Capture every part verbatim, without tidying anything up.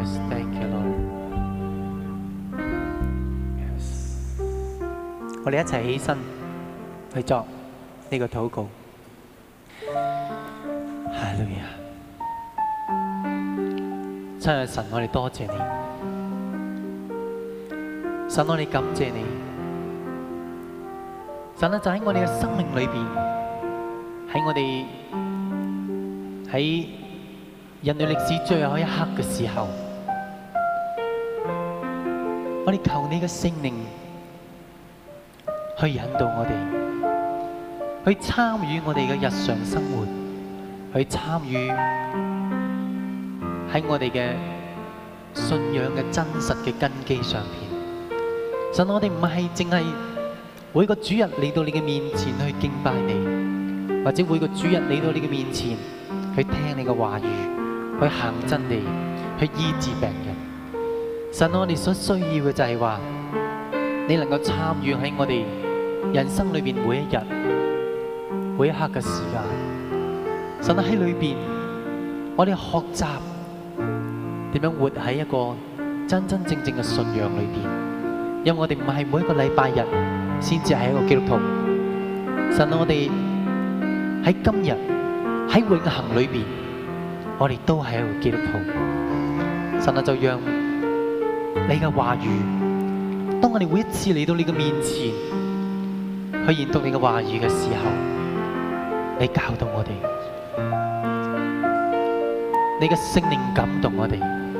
Yes, thank you, Lord. Yes， 我哋一齊起身去作呢個禱告。哈利路亞！親愛的神，我哋多謝你。神，我哋感謝你。神啊，就喺我哋嘅生命裏邊，喺我哋喺人類歷史最後一刻嘅時候，我哋求你嘅聖靈去引導我哋，去參與我哋嘅日常生活，去參與喺我哋嘅信仰嘅真實嘅根基上邊。神，我哋唔係淨係每個主日嚟到你嘅面前去敬拜你，或者每個主日嚟到你嘅面前去聽你嘅話語，去行真理，去醫治病人。神，我哋所需要嘅就係話，你能夠參與喺我哋人生裏邊每一日、每一刻嘅時間。神喺裏邊，我哋學習點樣活喺一個真真正正嘅信仰裏邊。因為我哋唔係每一個禮拜日先至係一個基督徒。神，我哋喺今日喺永恆裏邊，我哋都係一個基督徒。神啊，就讓你嘅話語，當我哋每一次嚟到你嘅面前去研讀你嘅話語嘅時候，你教導我哋，你嘅聖靈感動我哋，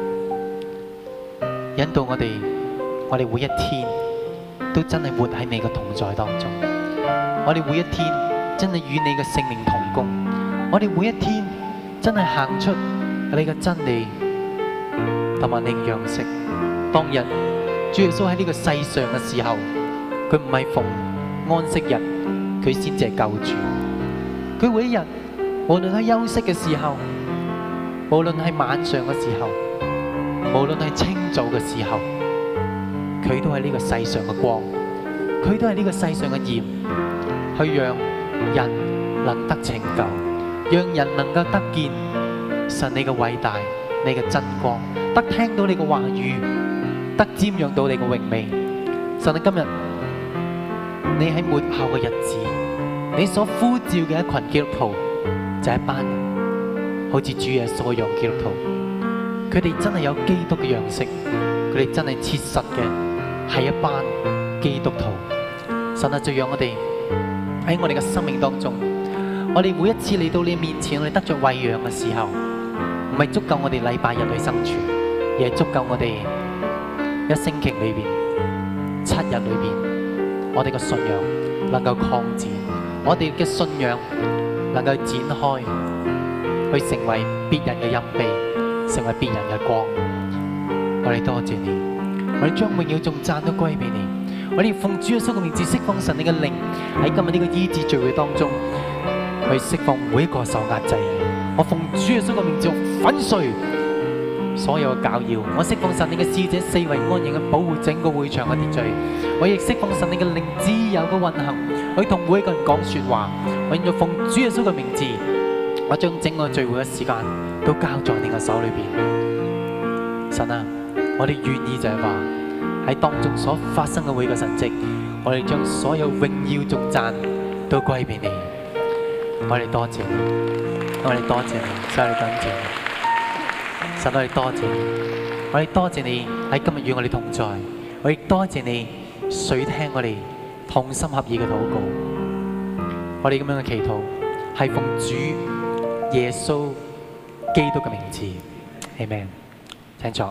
引導我哋，我哋每一天都真係活喺你嘅同在當中。我哋每一天真係與你嘅聖靈同工。我哋每一天真係行出你嘅真理同埋你嘅樣式。當日主耶穌喺呢個世上嘅時候，佢唔係逢安息日佢先至係救主。佢每一日，無論喺休息嘅時候，無論係晚上嘅時候，無論係清早嘅時候，佢都係呢個世上嘅光，佢都係呢個世上嘅鹽，去讓人能得拯救，讓人能夠得見神你嘅偉大，你嘅真光，得聽到你嘅話語，得瞻仰到你嘅榮美。神啊，今日你喺末後嘅日子，你所呼召嘅一群基督徒，就係一班好似主耶穌一樣基督徒，佢哋真係有基督嘅樣式，佢哋真係切實嘅係一班基督徒。神啊，就讓我哋喺我哋嘅生命當中，我哋每一次嚟到你面前，我哋得着餵養嘅時候，唔係足夠我哋禮拜日去生存，而係足夠我哋一星期裏邊、七日裏邊，我哋嘅信仰能夠擴展，我哋嘅信仰能夠展開，去成為別人嘅蔭庇，成為別人嘅光。我哋多謝你，我哋將榮耀頌讚都歸俾你。我哋奉主耶穌嘅名字釋放神你嘅靈喺今日呢個醫治聚會當中，去釋放每一個受壓制。我奉主耶穌嘅名字粉碎所有嘅攪擾，我釋放神你嘅使者四圍安營嘅保護整個會場嘅秩序。我亦釋放神你嘅靈自由嘅運行，去同每一個人講說話。我現在奉主耶穌嘅名字，我將整個聚會嘅時間都交在你嘅手裏邊。神啊，我哋願意就係話喺當中所發生嘅每個神蹟，我哋將所有榮耀頌讚都歸俾你。我哋多謝你，我哋多謝你，所以我哋感謝你。神，我哋多謝你，我哋多謝你喺今日與我哋同在，我亦多謝你垂聽我哋同心合意嘅禱告。我哋咁樣嘅祈禱係奉主耶穌基督嘅名字，Amen。請坐。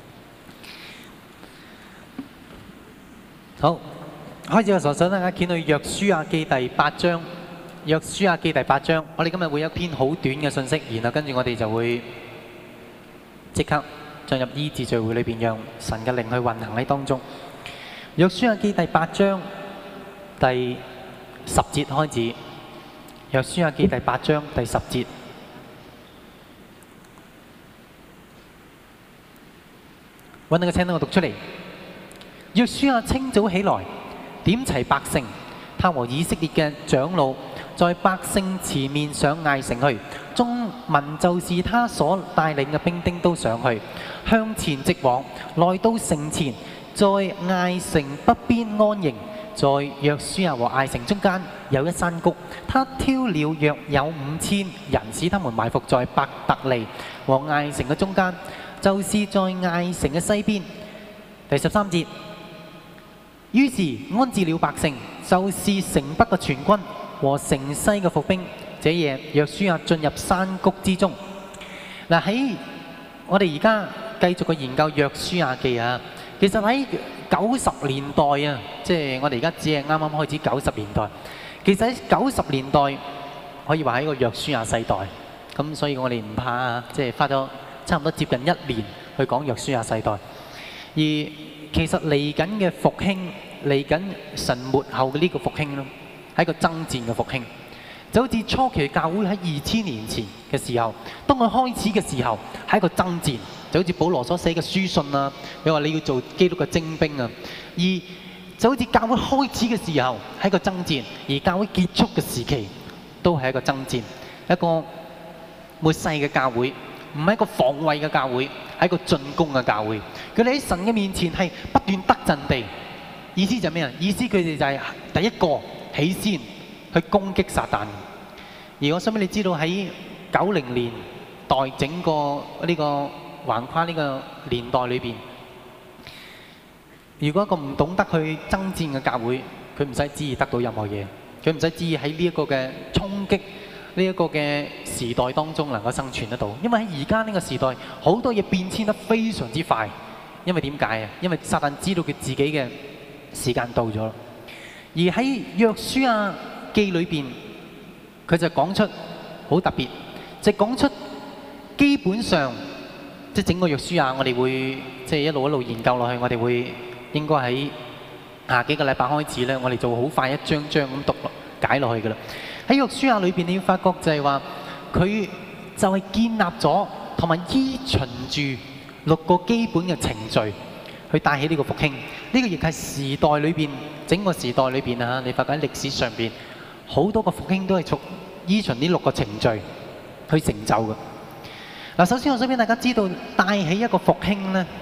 好，開始嘅時候，想大家見到約書亞記第八章。約書亞記第八章，我哋今日會有一篇好短嘅信息，然後跟住我哋就會即刻進入醫治聚會裏邊，讓神嘅靈去運行喺當中。約書亞記第八章第十節開始。約書亞記第八章第十節，揾到個請等我讀出嚟。約書亞清早起來，點齊百姓，他和以色列嘅長老， 在百姓前面上艾城去，眾民就是他所帶領嘅兵丁都上去，向前直往，來到城前，在艾城北邊安營。在約書亞和艾城中間有一山谷，他挑了約有五千人，使他們埋伏在伯特利和艾城嘅中間，就是在艾城嘅西邊。第十三節，於是安置了百姓，就是城北嘅全軍和城西嘅伏兵。這夜約書亞進入山谷之中。嗱，喺我哋而家繼續去研究約書亞記啊，其實喺九十年代啊，即係我哋而家只係啱啱開始九十年代。其實喺九十年代可以話係一個約書亞世代，咁所以我哋唔怕啊，即係花咗差唔多接近一年去講約書亞世代。而其實嚟緊嘅復興，嚟緊神末後嘅呢個復興咯，係一個爭戰嘅復興。就好似初期教會喺二千年前嘅時候，當佢開始嘅時候係一個爭戰。就好似保羅所寫嘅書信啊，佢話你要做基督嘅精兵啊，而就好似教會開始嘅時候係一個爭戰，而教會結束嘅時期都係一個爭戰，一個末世嘅教會，唔係一個防衛嘅教會，係一個進攻嘅教會。佢哋喺神嘅面前係不斷得陣地，意思就係咩啊？意思佢哋就係第一個起先去攻擊撒旦。而我想俾你知道喺九零年代整個呢個橫跨呢個年代裏邊，如果一個唔懂得去爭戰嘅教會，佢唔使旨意得到任何嘢，佢唔使旨意喺呢一個嘅衝擊呢一個嘅時代當中能夠生存得到。因為喺而家呢個時代，好多嘢變遷得非常之快。因為點解啊？因為撒旦知道佢自己嘅時間到咗。而喺約書亞記裏邊，佢就講出好特別，就講出基本上。即係整個約書亞，我哋會即係一路一路研究落去，我哋會應該喺下幾個禮拜開始咧，我哋就好快一張張咁讀解落去㗎啦。喺約書亞裏邊，你要發覺就係話佢就係建立咗同埋依循住六個基本嘅程序去帶起呢個復興。呢、這個亦係時代裏邊整個時代裏邊啊，你發覺喺歷史上邊好多個復興都係從依循呢六個程序去成就嘅。嗱，首先我想俾大家知道，帶起一個復興咧，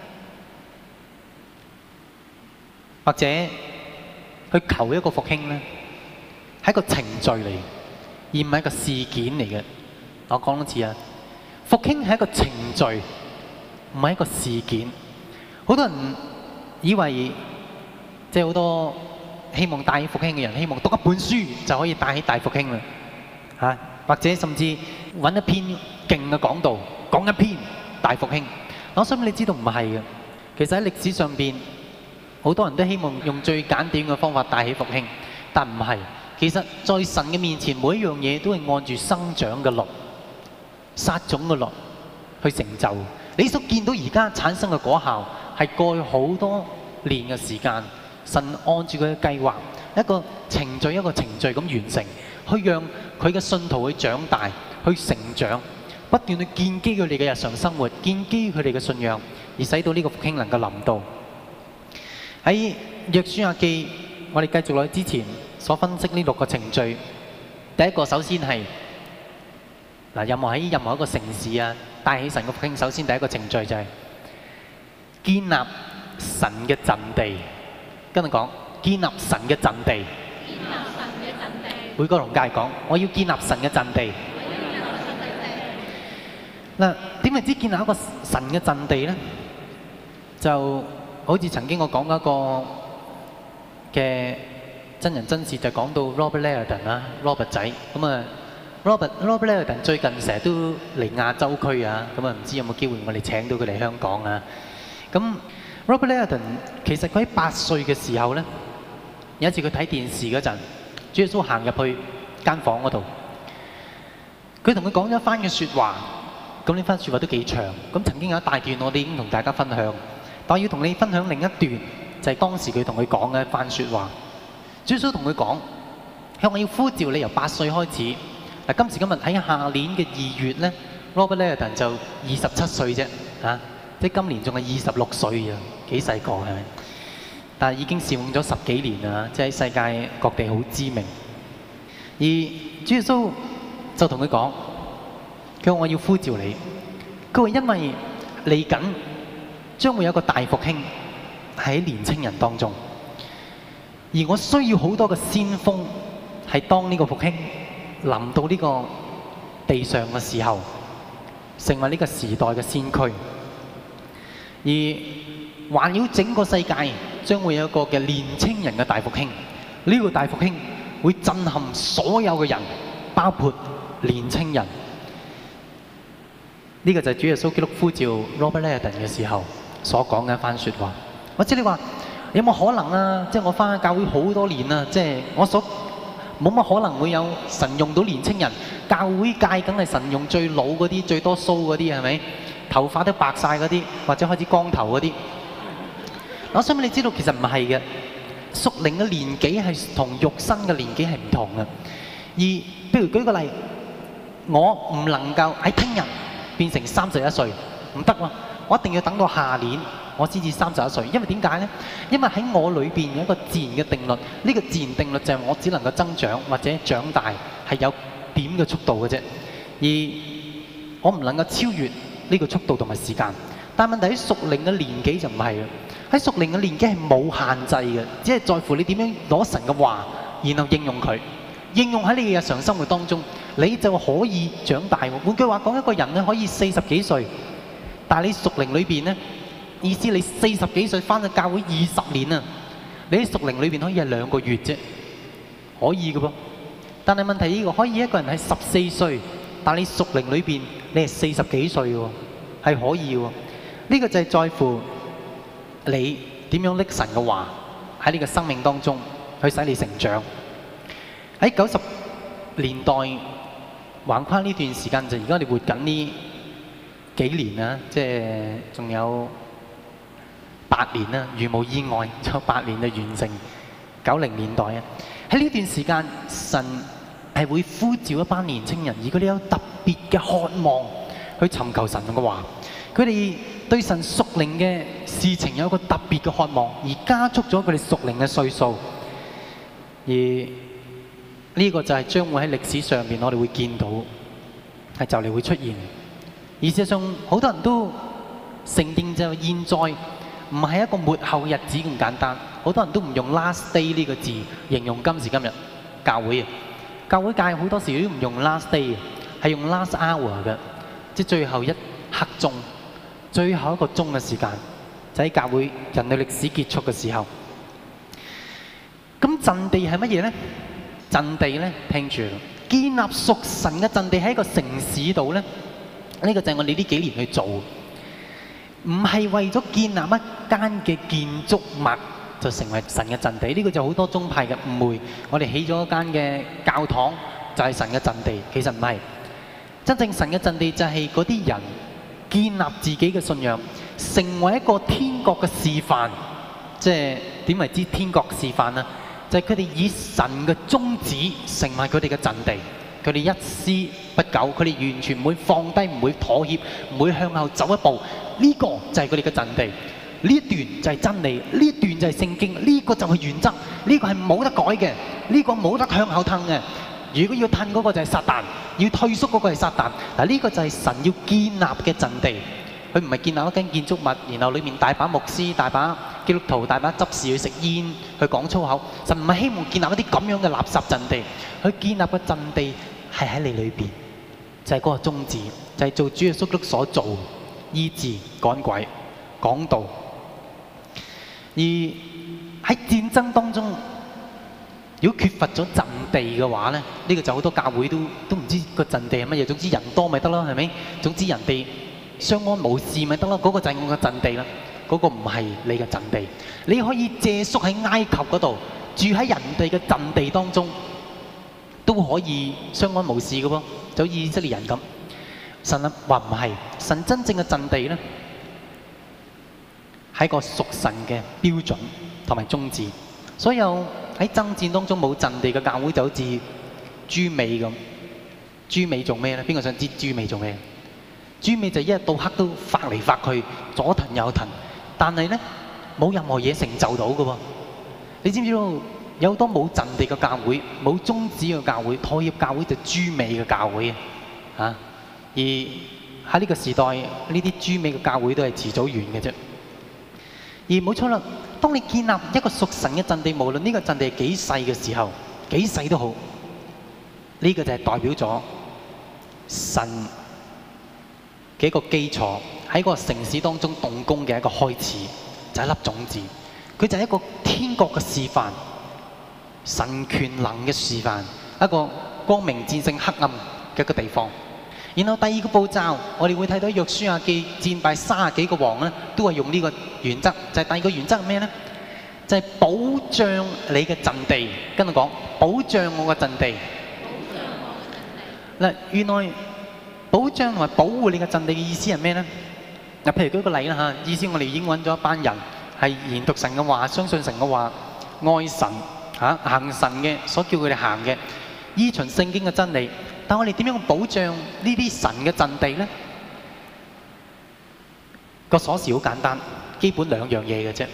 或者去求一個復興咧，係一個程序嚟，而唔係一個事件嚟嘅。我講多次啊，復興係一個程序，唔係一個事件。好多人以為，即係好多希望帶起復興嘅人，希望讀一本書就可以帶起大復興啦，嚇，或者甚至揾一篇勁嘅講道，講一篇大復興。我想你知道唔係嘅，其實喺歷史上邊，好多人都希望用最簡短嘅方法帶起復興，但唔係。其實在神嘅面前，每一樣嘢都係按住生長嘅律、撒種嘅律去成就。你所見到而家產生嘅果效，係過去好多年嘅時間，神按住佢嘅計劃，一個程序一個程序咁完成，去讓佢嘅信徒去長大、去成長，不斷去建基佢哋嘅日常生活，建基佢哋嘅信仰，而使到呢個復興能夠臨到。喺約書亞記，我哋繼續落去之前所分析呢六個程序。第一個首先係嗱，任何喺任何一個城市啊，帶起神嘅復興，首先第一個程序就係建立神嘅陣地。跟住講建立神嘅陣地。建立神嘅陣地。每個同教講，我要建立神嘅陣地。嗱，點為之建立一個神嘅陣地咧？就好似曾經我講嗰個嘅真人真事，就講到 Robert Liardon 啦，Robert 仔咁啊。Robert Robert Liardon 最近成日都嚟亞洲區啊，咁啊唔知有冇機會我哋請到佢嚟香港啊？咁 Robert Liardon 其實佢喺八歲嘅時候咧，有一次佢睇電視嗰陣，主耶穌行入去間房嗰度，佢同佢講咗一番嘅説話。咁呢番説話都幾長，咁曾經有一大段我哋已經同大家分享，但我要同你分享另一段，就係當時佢同佢講嘅一番説話。主耶穌同佢講，向我要呼召你由八歲開始。嗱，今時今日喺下年嘅二月咧 ，Robert Liardon 就二十七歲啫，嚇，即係今年仲係二十六歲啊，幾細個係咪？但係已經侍奉咗十幾年啦，即係喺世界各地好知名。 而主耶穌就同佢講，佢話我要呼召你，佢話因為嚟緊將會有一個大復興喺年青人當中，而我需要好多嘅先鋒係當呢個復興臨到呢個地上嘅時候，成為呢個時代嘅先驅。而環繞整個世界將會有一個嘅年青人嘅大復興，呢個大復興會震撼所有嘅人，包括年青人。呢個就係主耶穌基督呼召 Robert Liardon 嘅時候所講嘅一番説話。或者你話有冇可能啊？即係我返教會好多年啦，即係我所冇乜可能會有神用到年青人。教會界梗係神用最老嗰啲、最多鬚嗰啲，係咪？頭髮都白晒嗰啲，或者開始光頭嗰啲。我想俾你知道，其實唔係嘅。屬靈嘅年紀係同肉身嘅年紀係唔同嘅。而譬如舉個例，我唔能夠喺聽日變成三十一歲，唔得喎！我一定要等到下年，我先至三十一歲。因為點解呢？因為喺我裏邊有一個自然嘅定律，呢個自然定律就係我只能夠增長或者長大係有點嘅速度嘅啫，而我唔能夠超越呢個速度同埋時間。但問題喺屬靈嘅年紀就唔係啦，喺屬靈嘅年紀係冇限制嘅，只係在乎你點樣攞神嘅話，然後應用佢，應用喺你嘅日常生活當中，你就可以長大。換句話講，一個人咧可以四十幾歲，但係你屬靈裏邊咧，意思你四十幾歲返到教會二十年啊，你喺屬靈裏邊可以係兩個月啫，可以嘅噃。但係問題呢個可以一個人係十四歲，但係你屬靈裏邊你係四十幾歲喎，係可以喎。呢個就係在乎你點樣拎神嘅話喺你嘅生命當中去使你成長。喺九十年代橫跨呢段時間，就而家我哋活緊呢幾年啦，即係仲有八年啦，如無意外仲有八年就完成九零年代啊。喺呢段時間，神係會呼召一班年青人，而佢哋有特別嘅渴望去尋求神嘅話，佢哋對神屬靈嘅事情有一個特別嘅渴望，而加速咗佢哋屬靈嘅歲數。而呢個就係將會喺歷史上面我哋會見到係就嚟會出現。而事實上好多人都承認就係現在唔係一個末後嘅日子咁簡單，好多人都唔用 last day 呢個字形容今時今日教會啊。教會界好多時都唔用 last day，係用 last hour 嘅，即係最後一刻鐘、最後一個鐘嘅時間，就喺教會人類歷史結束嘅時候。咁陣地係乜嘢咧？陣地咧，聽住，建立屬神嘅陣地喺一個城市度咧，呢個就係我哋呢幾年去做，唔係為咗建立一間嘅建築物就成為神嘅陣地。呢個就好多宗派嘅誤會，我哋起咗一間嘅教堂就係神嘅陣地，其實唔係。真正神嘅陣地就係嗰啲人建立自己嘅信仰，成為一個天國嘅示範。即係點為之天國示範啊？就係佢哋以神嘅宗旨成為佢哋嘅陣地，佢哋一絲不苟，佢哋完全唔會放低，唔會妥協，唔會向後走一步。呢個就係佢哋嘅陣地。呢一段就係真理，呢一段就係聖經，呢個就係原則，呢個係冇得改嘅，呢個冇得向後褪嘅。如果要褪嗰個就係撒旦，要退縮嗰個係撒旦。嗱，呢個就係神要建立嘅陣地。佢唔係建立一間建築物，然後裏面大把牧師、大把基督徒、大把執事去食煙、去講粗口。神唔係希望建立一啲咁樣嘅垃圾陣地，佢建立嘅陣地係喺你裏邊，就係嗰個宗旨，就係做主耶穌基督所做，醫治、趕鬼、講道。而喺戰爭當中，如果缺乏咗陣地嘅話咧，呢個就好多教會都都唔知個陣地係乜嘢。總之人多咪得咯，係咪？總之人哋相安無事咪得咯，嗰個就係我嘅陣地啦。嗰個唔係你嘅陣地，你可以借宿喺埃及嗰度，住喺人哋嘅陣地當中，都可以相安無事嘅噃，就好似以色列人咁。神啊話唔係，神真正嘅陣地咧，係個屬神嘅標準同埋宗旨。所有喺爭戰當中冇陣地嘅教會就好似豬尾咁。豬尾做咩咧？邊個想知豬尾做咩？豬尾就一日到黑都發嚟發去，左騰右騰，但係咧冇任何嘢成就到嘅喎。你知唔知道有好多冇陣地嘅教會，冇宗旨嘅教會，妥協教會就豬尾嘅教會啊！而喺呢個時代，呢啲豬尾嘅教會都係遲早完嘅啫。而冇錯啦，當你建立一個屬神嘅陣地，無論呢個陣地係幾細嘅時候，幾細都好，呢個就係代表咗神嘅一個基礎，喺個城市當中動工嘅一個開始，就係一粒種子。佢就係一個天國嘅示範，神權能嘅示範，一個光明戰勝黑暗嘅一個地方。然後第二個步驟，我哋會睇到約書亞記戰敗三十幾個王咧，都係用呢個原則。就係第二個原則係咩咧？就係保障你嘅陣地。跟我講，保障我嘅陣地。嗱，原來保障同埋保護你嘅陣地嘅意思係咩咧？嗱，譬如舉個例啦嚇，意思我哋已經揾咗一班人係研讀神嘅話，相信神嘅話，愛神嚇，行神嘅所叫佢哋行嘅，依循聖經嘅真理。但我哋點樣保障呢啲神嘅陣地呢？個鎖匙好簡單，基本兩樣嘢嘅啫，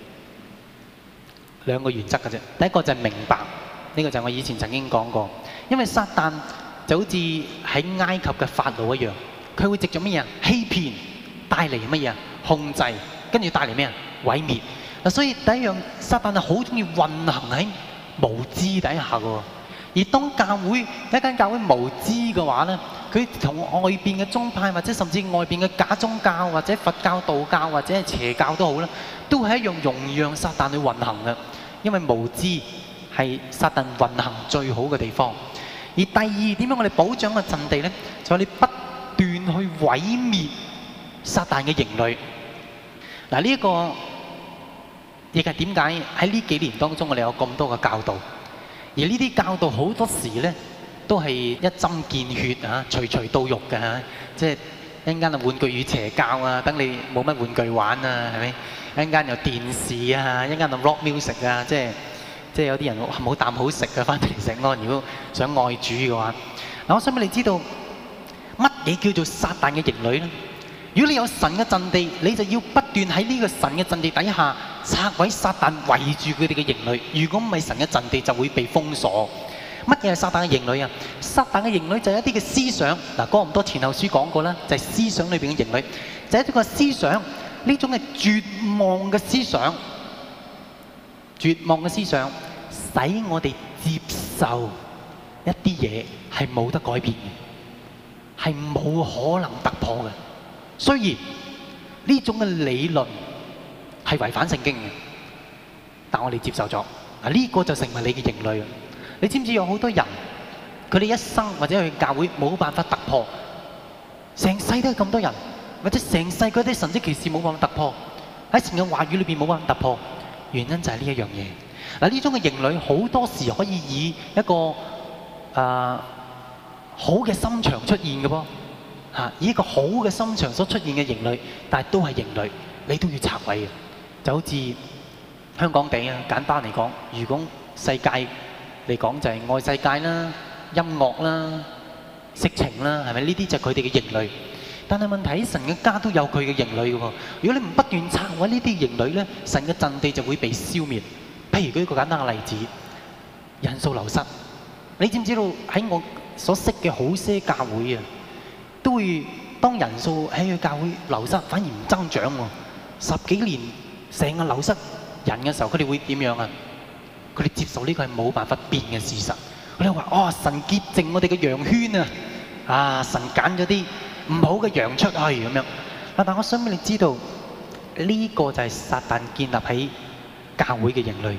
兩個原則嘅啫。第一個就係明白，呢個就係我以前曾經講過。因為撒旦就好似喺埃及嘅法老一樣，佢會藉著乜嘢啊？欺騙，帶嚟乜嘢啊？控制，跟住帶嚟咩啊？毀滅。嗱，所以第一樣，撒旦係好中意運行喺無知底下嘅。而當教會一間教會無知嘅話咧，佢同外邊嘅宗派或者甚至外邊嘅假宗教或者佛教、道教或者係邪教都好啦，都係一樣容讓撒旦去運行嘅。因為無知係撒旦運行最好嘅地方。而第二，點樣我哋保障個陣地咧？就係你不斷去毀滅撒旦嘅營壘。嗱，呢一個亦係點解喺呢幾年當中我哋有咁多嘅教導。而呢啲教導好多時咧，都係一針見血啊，隨隨到肉嘅嚇，即係一陣間啊玩具與邪教啊，等你冇乜玩具玩啊，係咪？一陣間又電視啊，一陣間又 rock music 啊，即係即係有啲人冇啖好食嘅，翻嚟食咯。如果想愛主嘅話，嗱，我想俾你知道乜嘢叫做撒旦嘅營壘咧？如果你有神嘅陣地，你就要不斷喺呢個神嘅陣地底下拆毀撒旦圍住佢哋嘅營壘。如果唔係神嘅陣地，就會被封鎖。乜嘢係撒旦嘅營壘啊？撒旦嘅營壘就係一啲嘅思想。嗱，哥林多前後書講過啦，就係思想裏邊嘅營壘，就係一個思想，呢種係絕望嘅思想，絕望嘅思想，使我哋接受一啲嘢係冇得改變嘅，係冇可能突破嘅。雖然呢種嘅理論係違反聖經嘅，但我哋接受咗。嗱，呢個就成為你嘅營壘。你知唔知有好多人，佢哋一生或者去教會冇辦法突破，成世都係咁多人，或者成世嗰啲神蹟奇事冇辦法突破，喺神嘅話語裏邊冇辦法突破，原因就係呢一樣嘢。嗱，呢種嘅營壘好多時可以以一個誒、呃、好嘅心腸出現嘅噃。嚇！以一個好嘅心腸所出現嘅營壘，但係都係營壘，你都要拆毀嘅。就好似香港地啊，簡單嚟講，如果世界嚟講就係愛世界啦、音樂啦、色情啦，係咪？呢啲就係佢哋嘅營壘。但係問題，神嘅家都有佢嘅營壘嘅喎。如果你唔不斷拆毀呢啲營壘咧，神嘅陣地就會被消滅。譬如舉一個簡單嘅例子，人數流失。你知唔知道喺我所識嘅好些教會啊，都會當人數喺佢教會流失，反而唔增長喎。十幾年成個流失人嘅時候，佢哋會點樣啊？佢哋接受呢個係冇辦法變嘅事實。佢哋話：哦，神潔淨我哋嘅羊圈啊！啊，神揀咗啲唔好嘅羊出去咁樣。但我想俾你知道，呢個就係撒旦建立喺教會嘅營壘，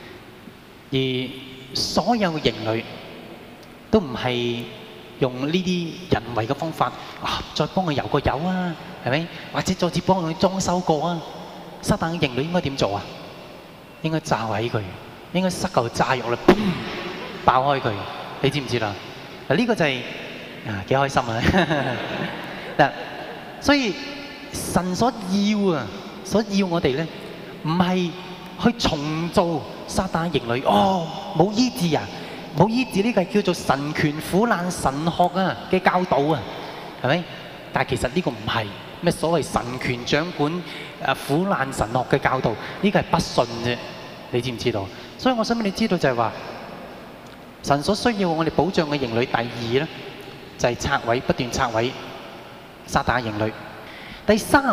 而所有嘅營壘都唔係用呢啲人為嘅方法，啊，再幫佢油個油啊，係咪？或者再次幫佢裝修過啊？撒旦嘅營壘應該點做啊？應該炸毀佢，應該塞嚿炸藥嚟，砰，爆開佢。你知唔知啦？嗱，呢個就係啊幾開心啊！嗱，所以神所要啊，所要我哋咧，唔係去重造撒旦嘅營壘。哦，冇醫治啊！冇醫治呢個係叫做神權苦難神學啊嘅教導啊，係咪？但係其實呢個唔係咩所謂神權掌管誒苦難神學嘅教導，呢個係不信啫。 你知唔知道？所以我想俾你知道就係話，神所需要我哋保障嘅營壘，第二咧就係拆毀，不斷拆毀撒旦嘅營壘。第三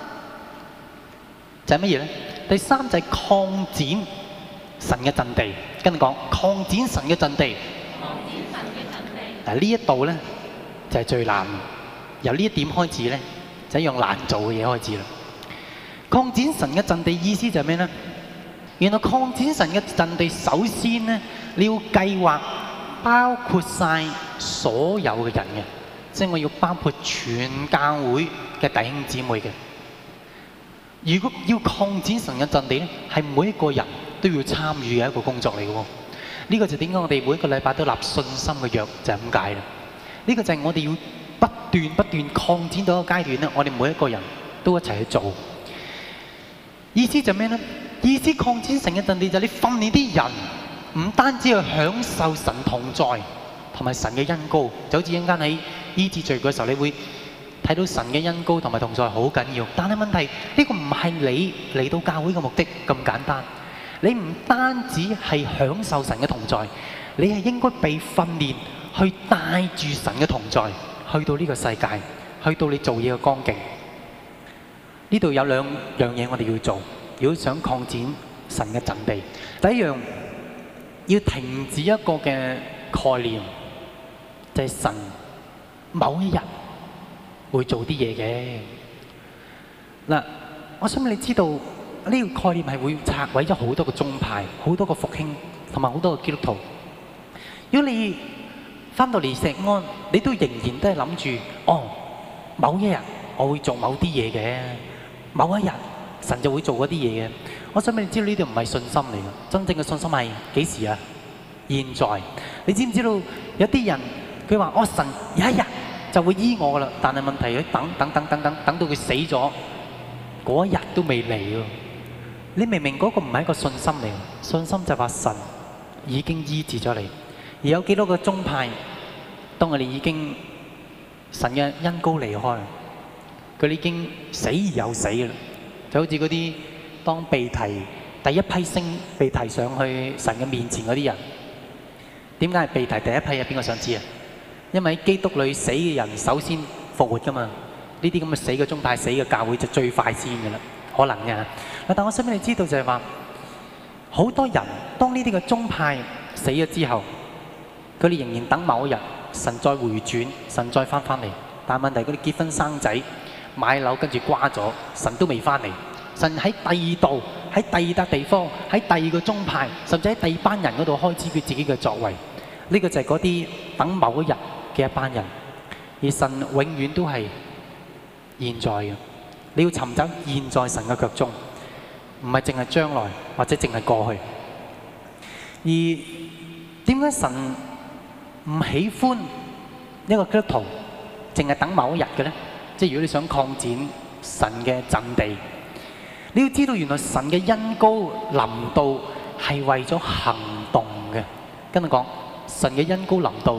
就係乜嘢咧？第三就係擴展神嘅陣地。跟住講擴展神嘅陣地。擴展神嘅陣地。嗱呢一度咧就係最難，由呢一點開始咧就係一樣難做嘅嘢開始啦。擴展神嘅陣地意思就係咩咧？原來擴展神嘅陣地，首先咧你要計劃包括晒所有嘅人嘅，即係我要包括全教會嘅弟兄姊妹嘅。如果要擴展神嘅陣地咧，係每一個人都要參與嘅一個工作嚟嘅喎。呢個就點解我哋每一個禮拜都立信心嘅約就係咁解啦。呢個就係我哋要不斷不斷擴展到一個階段咧，我哋每一個人都一齊去做。意思就係咩咧？意思擴展神嘅陣地就係你訓練啲人，唔單止去享受神同在同埋神嘅恩膏，就好似一陣間喺醫治聚會嘅時候，你會睇到神嘅恩膏同埋同在好緊要。但係問題呢個唔係你嚟到教會嘅目的咁簡單。你唔單止係享受神嘅同在，你係應該被訓練去帶住神嘅同在去到呢個世界，去到你做嘢嘅光景。呢度有兩樣嘢我哋要做。如果想擴展神嘅陣地，第一樣要停止一個嘅概念，就係神某一日會做啲嘢嘅。嗱，我想你知道呢個概念係會拆毀咗好多個宗派、好多個復興同埋好多個基督徒。如果你翻到嚟石安，你都仍然都係諗住，哦，某一日我會做某啲嘢嘅，某一日神就會做嗰啲嘢嘅。我想俾你知道呢啲唔係信心嚟嘅，真正嘅信心係幾時啊？現在。你知唔知道有啲人佢話：哦，神有一日就會醫我噶啦，但係問題佢等等等等等等到佢死咗，嗰一日都未嚟喎。你明明嗰個唔係一個信心嚟，信心就係話神已經醫治咗你。而有幾多個宗派，當我哋已經神嘅恩膏離開，佢哋已經死而又死嘅啦。就好似嗰啲當被提第一批星被提上去神嘅面前嗰啲人，點解係被提第一批啊？邊個想知啊？因為喺基督裏死嘅人首先復活噶嘛。呢啲咁嘅死嘅宗派、死嘅教會就最快先嘅啦，可能嘅。但我想俾你知道就係話，好多人當呢啲嘅宗派死咗之後，佢哋仍然等某一日神再回轉，神再翻返嚟。但係問題佢哋結婚生仔、買樓跟住瓜咗，神都未翻嚟。神喺第二度，喺第二笪地方，喺第二個宗派，甚至喺第二班人嗰度開始佢自己嘅作為。呢個就係嗰啲等某一日嘅一班人，而神永遠都係現在嘅。你要尋找現在神嘅腳蹤，唔係淨係將來或者淨係過去。而點解神唔喜歡一個基督徒淨係等某一日嘅咧？即係如果你想擴展神嘅陣地，你要知道原來神嘅恩膏臨到係為咗行動嘅。跟住講，神嘅恩膏臨到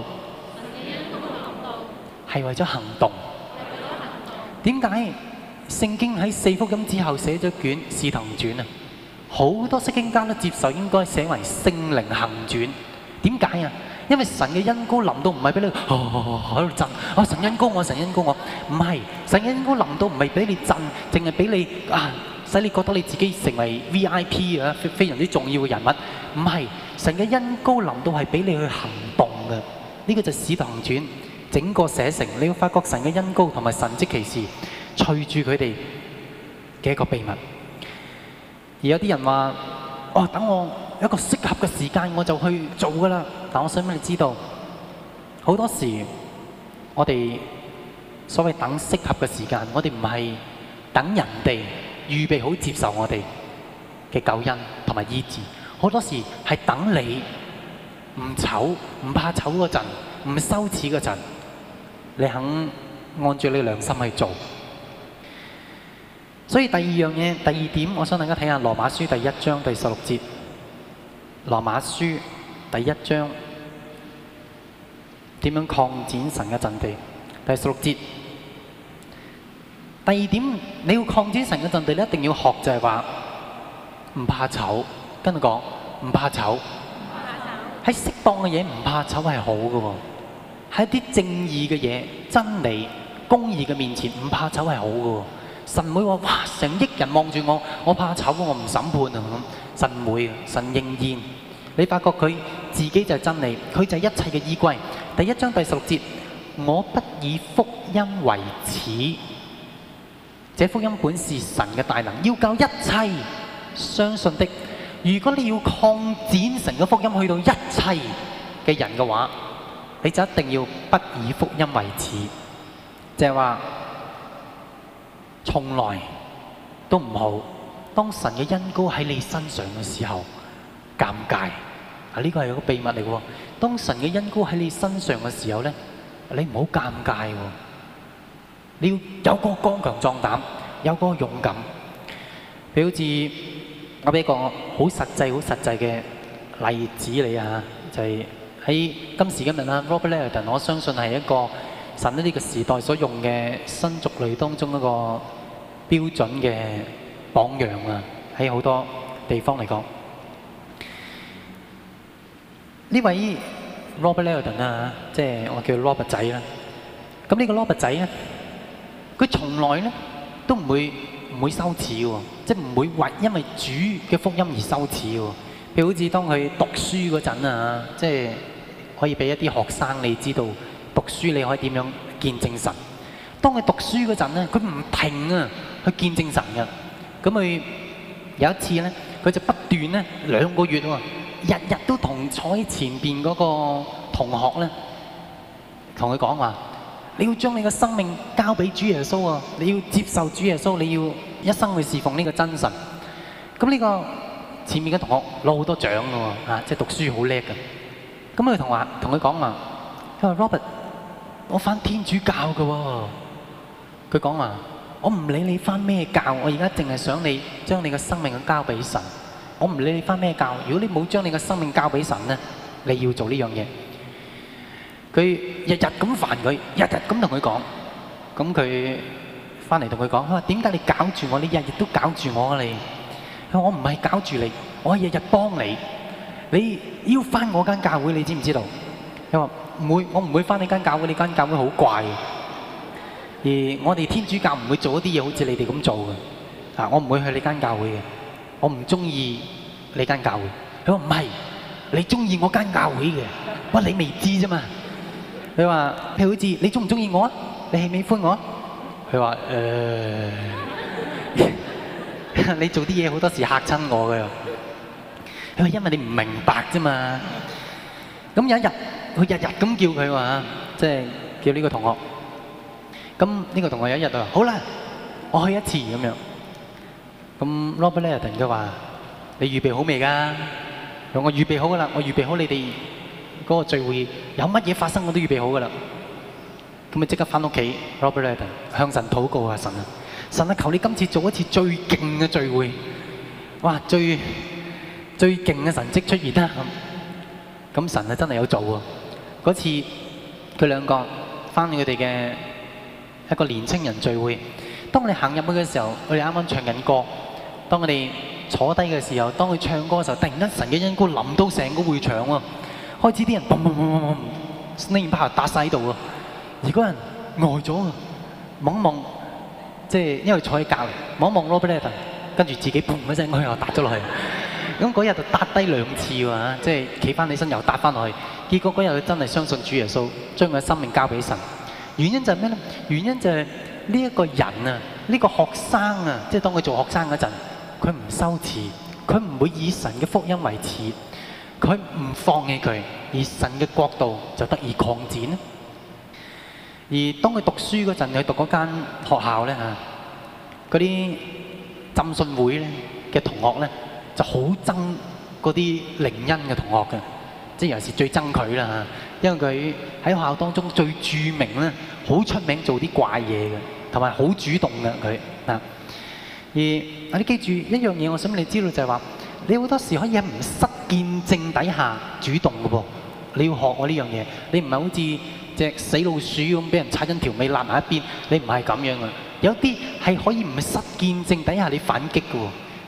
係為咗行動。點解聖經喺四福音之後寫咗卷《使徒行傳》啊？好多釋經家都接受應該寫為聖靈行傳。點解啊？因為神嘅恩膏臨到唔係俾你喺度震，啊神恩膏我，神恩膏我，唔係神嘅恩膏臨到唔係俾你震，淨係俾你啊使你覺得你自己成為 V I P 啊，非常之重要嘅人物。唔係神嘅恩膏臨到係俾你去行動嘅。呢個就係《使徒行傳》整個寫成，你會發覺神嘅恩膏同埋神蹟奇事隨住佢哋嘅一個秘密。而有啲人話：哦，等我有一個適合嘅時間我就去做㗎啦。但我想俾你知道，好多時我哋所謂等適合嘅時間，我哋唔係等人哋預備好接受我哋嘅救恩同埋醫治，好多時係等你唔醜唔怕醜嗰陣，唔羞恥嗰陣，你肯按照你良心去做。所以第二樣嘢，第二點，我想大家睇下羅馬書第一章第十六節。羅馬書第一章點樣擴展神嘅陣地？第十六節，第二點，你要擴展神嘅陣地，你一定要學就係話唔怕醜， 跟住講唔怕醜，喺適當嘅嘢唔怕醜係好嘅喎，喺啲正義嘅嘢、真理、公義嘅面前唔怕醜係好嘅喎。神唔會話哇成億人望住我，我怕醜，我唔審判啊咁。神唔會，神仍然，你發覺佢自己就係真理，佢就係一切嘅依歸。第一章第十六節，我不以福音為恥，這福音本是神嘅大能，要救一切相信的。如果你要擴展神嘅福音去到一切嘅人嘅話，你就一定要不以福音為恥，就係話從來都唔好。當神嘅恩膏喺你身上嘅時候，尷尬啊！呢個係一個秘密嚟嘅喎。當神嘅恩膏喺你身上嘅時候咧，你唔好尷尬喎。你要有個剛強壯膽，有個勇敢。譬如好似我俾一個好實際、好實際嘅例子你啊，就係喺今時今日啦 ，Robert Liardon， 我相信係一個神喺呢個時代所用嘅新族類當中一個標準嘅榜樣啊！喺好多地方嚟講，呢位 Robert Liardon 啊，即係我叫 Robert 仔啦。咁呢個 Robert 仔咧，佢從來咧都唔會唔會羞恥喎，即係唔會為因為主嘅福音而羞恥喎。譬如好似當佢讀書嗰陣啊，即係可以俾一啲學生你知道讀書你可以點樣見證神。當佢讀書嗰陣咧，佢唔停啊去見證神嘅。咁佢有一次咧，佢就不斷咧兩個月喎，日日都同坐喺前邊嗰個同學咧，同佢講話：你要將你嘅生命交俾主耶穌啊！你要接受主耶穌，你要一生去侍奉呢個真神。咁呢個前面嘅同學攞好多獎嘅喎，啊，即係讀書好叻嘅。咁佢同話同佢講話，佢話 Robert，我返天主教嘅喎。佢講話：我唔理你返咩教，我而家淨係想你將你嘅生命交俾神。我唔理你返咩教，如果你冇將你嘅生命交俾神咧，你要做呢樣嘢。佢日日咁煩佢，日日咁同佢講。咁佢返嚟同佢講：佢話點解你搞住我？你日日都搞住我啊！你，佢話我唔係搞住你，我係日日幫你。你要返我間教會，你知唔知道？佢話唔會，我唔會返你間教會，你間教會好怪。而我哋天主教唔會做一啲嘢好似你哋咁做嘅。啊，我唔會去你間教會嘅，我唔中意你間教會。佢話唔係，你中意我間教會嘅，不過你未知啫嘛。佢話譬如好似你中唔中意我啊？你喜唔喜歡我啊？佢話誒，你做啲嘢好多時嚇親我㗎。佢話因為你唔明白啫嘛。咁有一日，佢日日咁叫佢話，即係叫呢個同學。咁呢個同學有一日就話：好啦，我去一次咁樣。咁 Robert Liardon 佢話：你預備好未㗎？我我預備好㗎啦，我預備好你哋嗰個聚會有乜嘢發生我都預備好㗎啦。咁咪即刻返屋企 ，Robert Liardon 向神禱告啊！神啊，神啊，求你今次做一次最勁嘅聚會，哇！最最勁嘅神蹟出現啦！咁咁神啊真係有做喎。嗰次佢兩個返佢哋嘅一個年青人聚會，當我哋行入去嘅時候，我哋啱啱唱緊歌。當我哋坐低嘅時候，當佢唱歌嘅時候，突然間神嘅恩膏臨到成個會場喎，開始啲人砰砰砰砰砰，呢把打晒喺度喎。而嗰人呆咗啊，望一望，即係因為坐喺隔離，望一望 Robert Liardon，跟住自己砰一聲，佢又打咗落去。咁嗰日就打低兩次喎，即係企翻起身又打翻落去。結果嗰日佢真係相信主耶穌，將佢嘅生命交俾神。原因就係咩咧？原因就係呢一個人啊，呢個學生啊，即係當佢做學生嗰陣，佢唔羞恥，佢唔會以神嘅福音為恥，佢唔放棄佢，而神嘅國度就得以擴展。而當佢讀書嗰陣，佢讀嗰間學校咧嚇，嗰啲浸信會咧嘅同學咧就好憎嗰啲靈恩嘅同學嘅，即係尤其是最憎佢啦嚇，因為佢喺學校當中最著名咧，好出名做啲怪嘢嘅，同埋好主動嘅佢啊。而啊，你記住一樣嘢，我想你知道就係話，你好多時可以喺唔失見證底下主動嘅噃。你要學我呢樣嘢，你唔係好似隻死老鼠咁俾人踩緊條尾揦埋一邊，你唔係咁樣嘅。有啲係可以唔失見證底下你反擊嘅喎。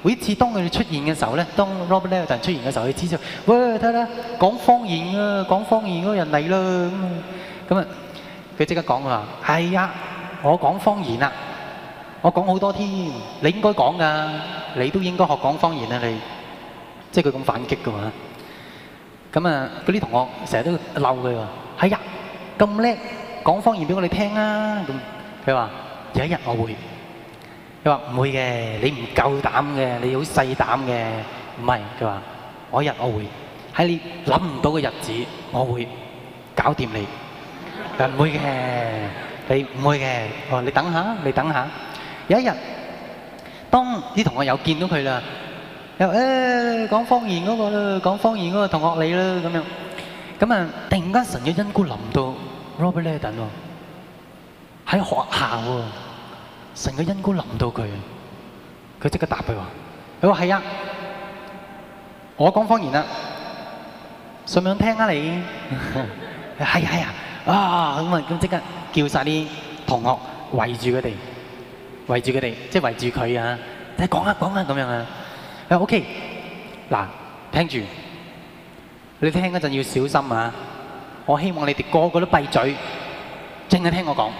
每一次當佢哋出現嘅時候咧，當 Robert Liardon 出現嘅時候，佢指住：喂，睇啦，講方言啊，講方言嗰個人嚟啦咁啊！佢即刻講話：係啊，我講方言啦，我講好多添，你應該講㗎，你都應該學講方言啊！你即係佢咁反擊㗎嘛？咁啊，嗰啲同學成日都鬧佢話：係啊，咁叻講方言俾我哋聽啊！咁佢話：有一日我會。佢話唔會嘅，你唔夠膽嘅，你好細膽嘅。唔係，佢話我一日我會喺你諗唔到嘅日子，我會搞掂你。佢話唔會嘅，你唔會嘅。我話你等下，你等下。有一日，當啲同學又見到佢啦，又誒講方言嗰個啦，講方言嗰個同學你啦咁樣。咁啊，突然間神嘅恩膏臨到 Robert Liardon喎，喺學校喎。神嘅恩膏臨到佢，佢即刻答佢話：佢話係啊，我講方言啦，想唔想聽啊你？係係啊，啊咁啊咁即刻叫曬啲同學圍住佢哋，圍住佢哋，即係圍住佢啊！你講啊講啊咁樣啊！啊 OK，嗱聽住，你聽嗰陣要小心啊！我希望你哋個個都閉嘴，淨係聽我講。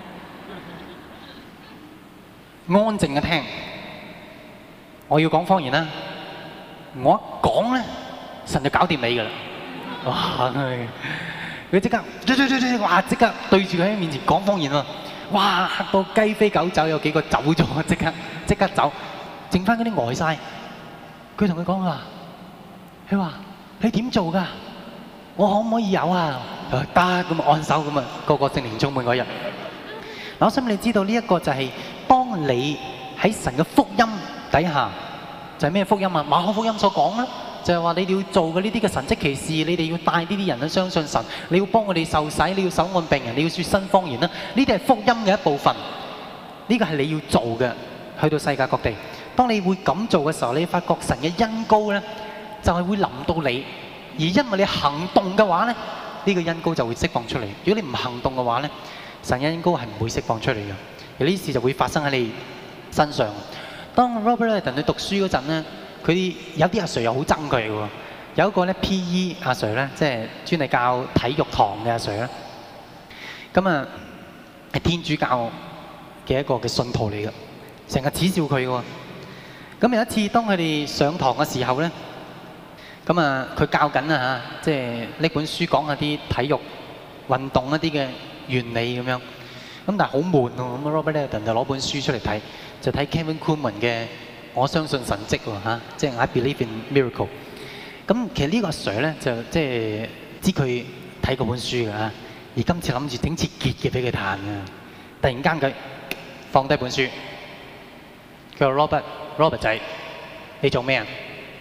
安靜嘅聽，我要講方言啦。我一講咧，神就搞掂你噶啦。哇！佢即刻，哇！即刻對住佢喺面前講方言喎。哇！嚇到雞飛狗走，有幾個走咗，即刻即刻走，剩翻嗰啲呆晒。佢同佢講話，佢話：你點做㗎？我可唔可以有啊？得咁按手咁啊，個個聖靈充滿嗰日。嗱，我想你知道呢一個就係當你喺神嘅福音底下，就係咩福音啊？馬可福音所講啦，就係話你哋要做嘅呢啲嘅神蹟奇事，你哋要帶呢啲人去相信神，你要幫我哋受洗，你要手按病人，你要説新方言啦。呢啲係福音嘅一部分，呢個係你要做嘅，去到世界各地。當你會咁做嘅時候，你發覺神嘅恩膏咧，就係會臨到你，而因為你行動嘅話咧，呢個恩膏就會釋放出嚟。如果你唔行動嘅話咧，神嘅恩膏係唔會釋放出嚟嘅，而呢啲事就會發生喺你身上。當 Robert Liardon去讀書嗰陣咧，佢有啲阿 Sir 又好憎佢嘅喎。有一個咧 P E 阿 Sir 咧，即係專係教體育堂嘅阿 Sir 咧。咁啊係天主教嘅一個嘅信徒嚟嘅，成日恥笑佢嘅喎。咁有一次當佢哋上堂嘅時候咧，咁啊佢教緊啊嚇，即係呢本書講下啲體育運動一啲嘅原理咁樣，咁但係好悶喎。咁 Robert Liardon就攞本書出嚟睇，就睇 Kevin Kuhlman 嘅《我相信神蹟》喎嚇，即係 I Believe in Miracle。咁其實呢個阿 Sir 咧就即係知佢睇嗰本書嘅嚇，而今次諗住整次結嘅俾佢彈嘅。突然間佢放低本書，佢話 Robert Robert 仔，你做咩啊？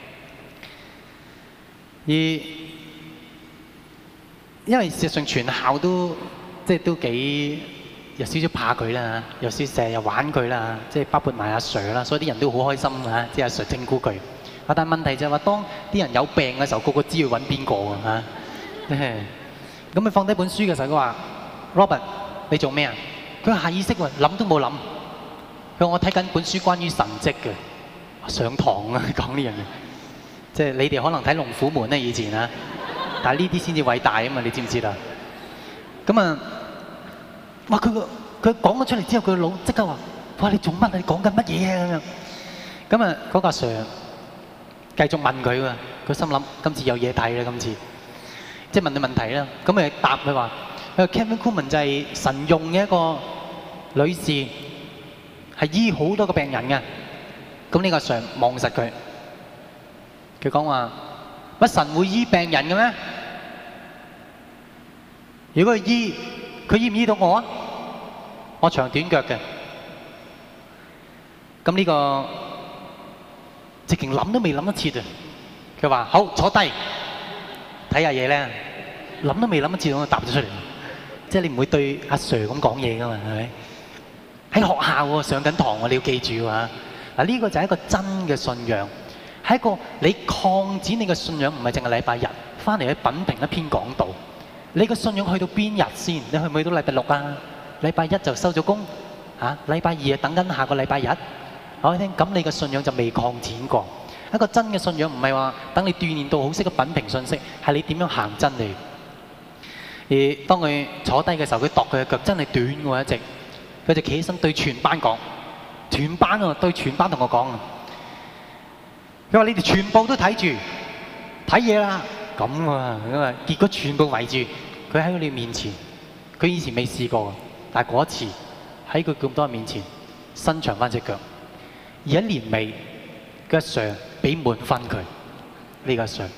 而因為事實上全校都即係都幾有少少怕佢啦，有少少成日又玩佢啦，即係包括埋阿 Sir 啦，所以啲人都好開心啊！即係阿 Sir 整蠱佢。啊，但係問題就係話，當啲人有病嘅時候，個個知要揾邊個啊嚇？咁佢放低本書嘅時候，佢話 Robert 你做咩啊？佢下意識喎，諗都冇諗。佢話我睇緊本書關於神蹟嘅，上堂啊講呢樣嘢。即係你哋可能睇《龍虎門》咧以前啊。但係呢啲先至偉大啊嘛！你知唔知啦？咁啊，哇！佢個佢講咗出嚟之後，佢個腦即刻話：哇！你做乜啊？你講緊乜嘢啊？咁樣咁啊，嗰個 Sir 繼續問佢喎。佢心諗：今次有嘢睇啦！今次即係問佢問題啦。咁咪答佢話：佢話 Kevin Kuhlman 就係神用嘅一個女士，係醫好多個病人嘅。咁呢個 Sir 望實佢，佢講話。乜神會醫病人嘅咩？如果佢醫，佢醫唔醫到我啊？我長短腳嘅。咁呢個直情諗都未諗得切啊！佢話：好，坐低睇下嘢咧。諗都未諗得切，我就答咗出嚟。即係你唔會對阿 Sir 咁講嘢噶嘛？係咪？喺學校喎，上緊堂喎，你要記住啊！嗱，呢個就係一個真嘅信仰。係一個你擴展你嘅信仰，唔係淨係禮拜日翻嚟去品評一篇講道。你嘅信仰去到邊日先？你去唔去到禮拜六啊？禮拜一就收咗工嚇，禮拜二啊等緊下個禮拜日。 我聽咁你嘅信仰就未擴展過。一個真嘅信仰唔係話等你鍛鍊到好識得品評信息，係你點樣行真理。而當佢坐低嘅時候，佢度佢嘅腳真係短喎一直，佢就企起身對全班講，全班啊對全班同我講啊，佢話你哋全部都睇住睇嘢啦，咁啊咁啊，結果全部圍住佢喺你面前，佢以前未試過，但係嗰一次喺佢咁多人面前伸長翻隻腳，而一年尾嘅阿 Sir 俾滿分佢，呢個阿 Sir。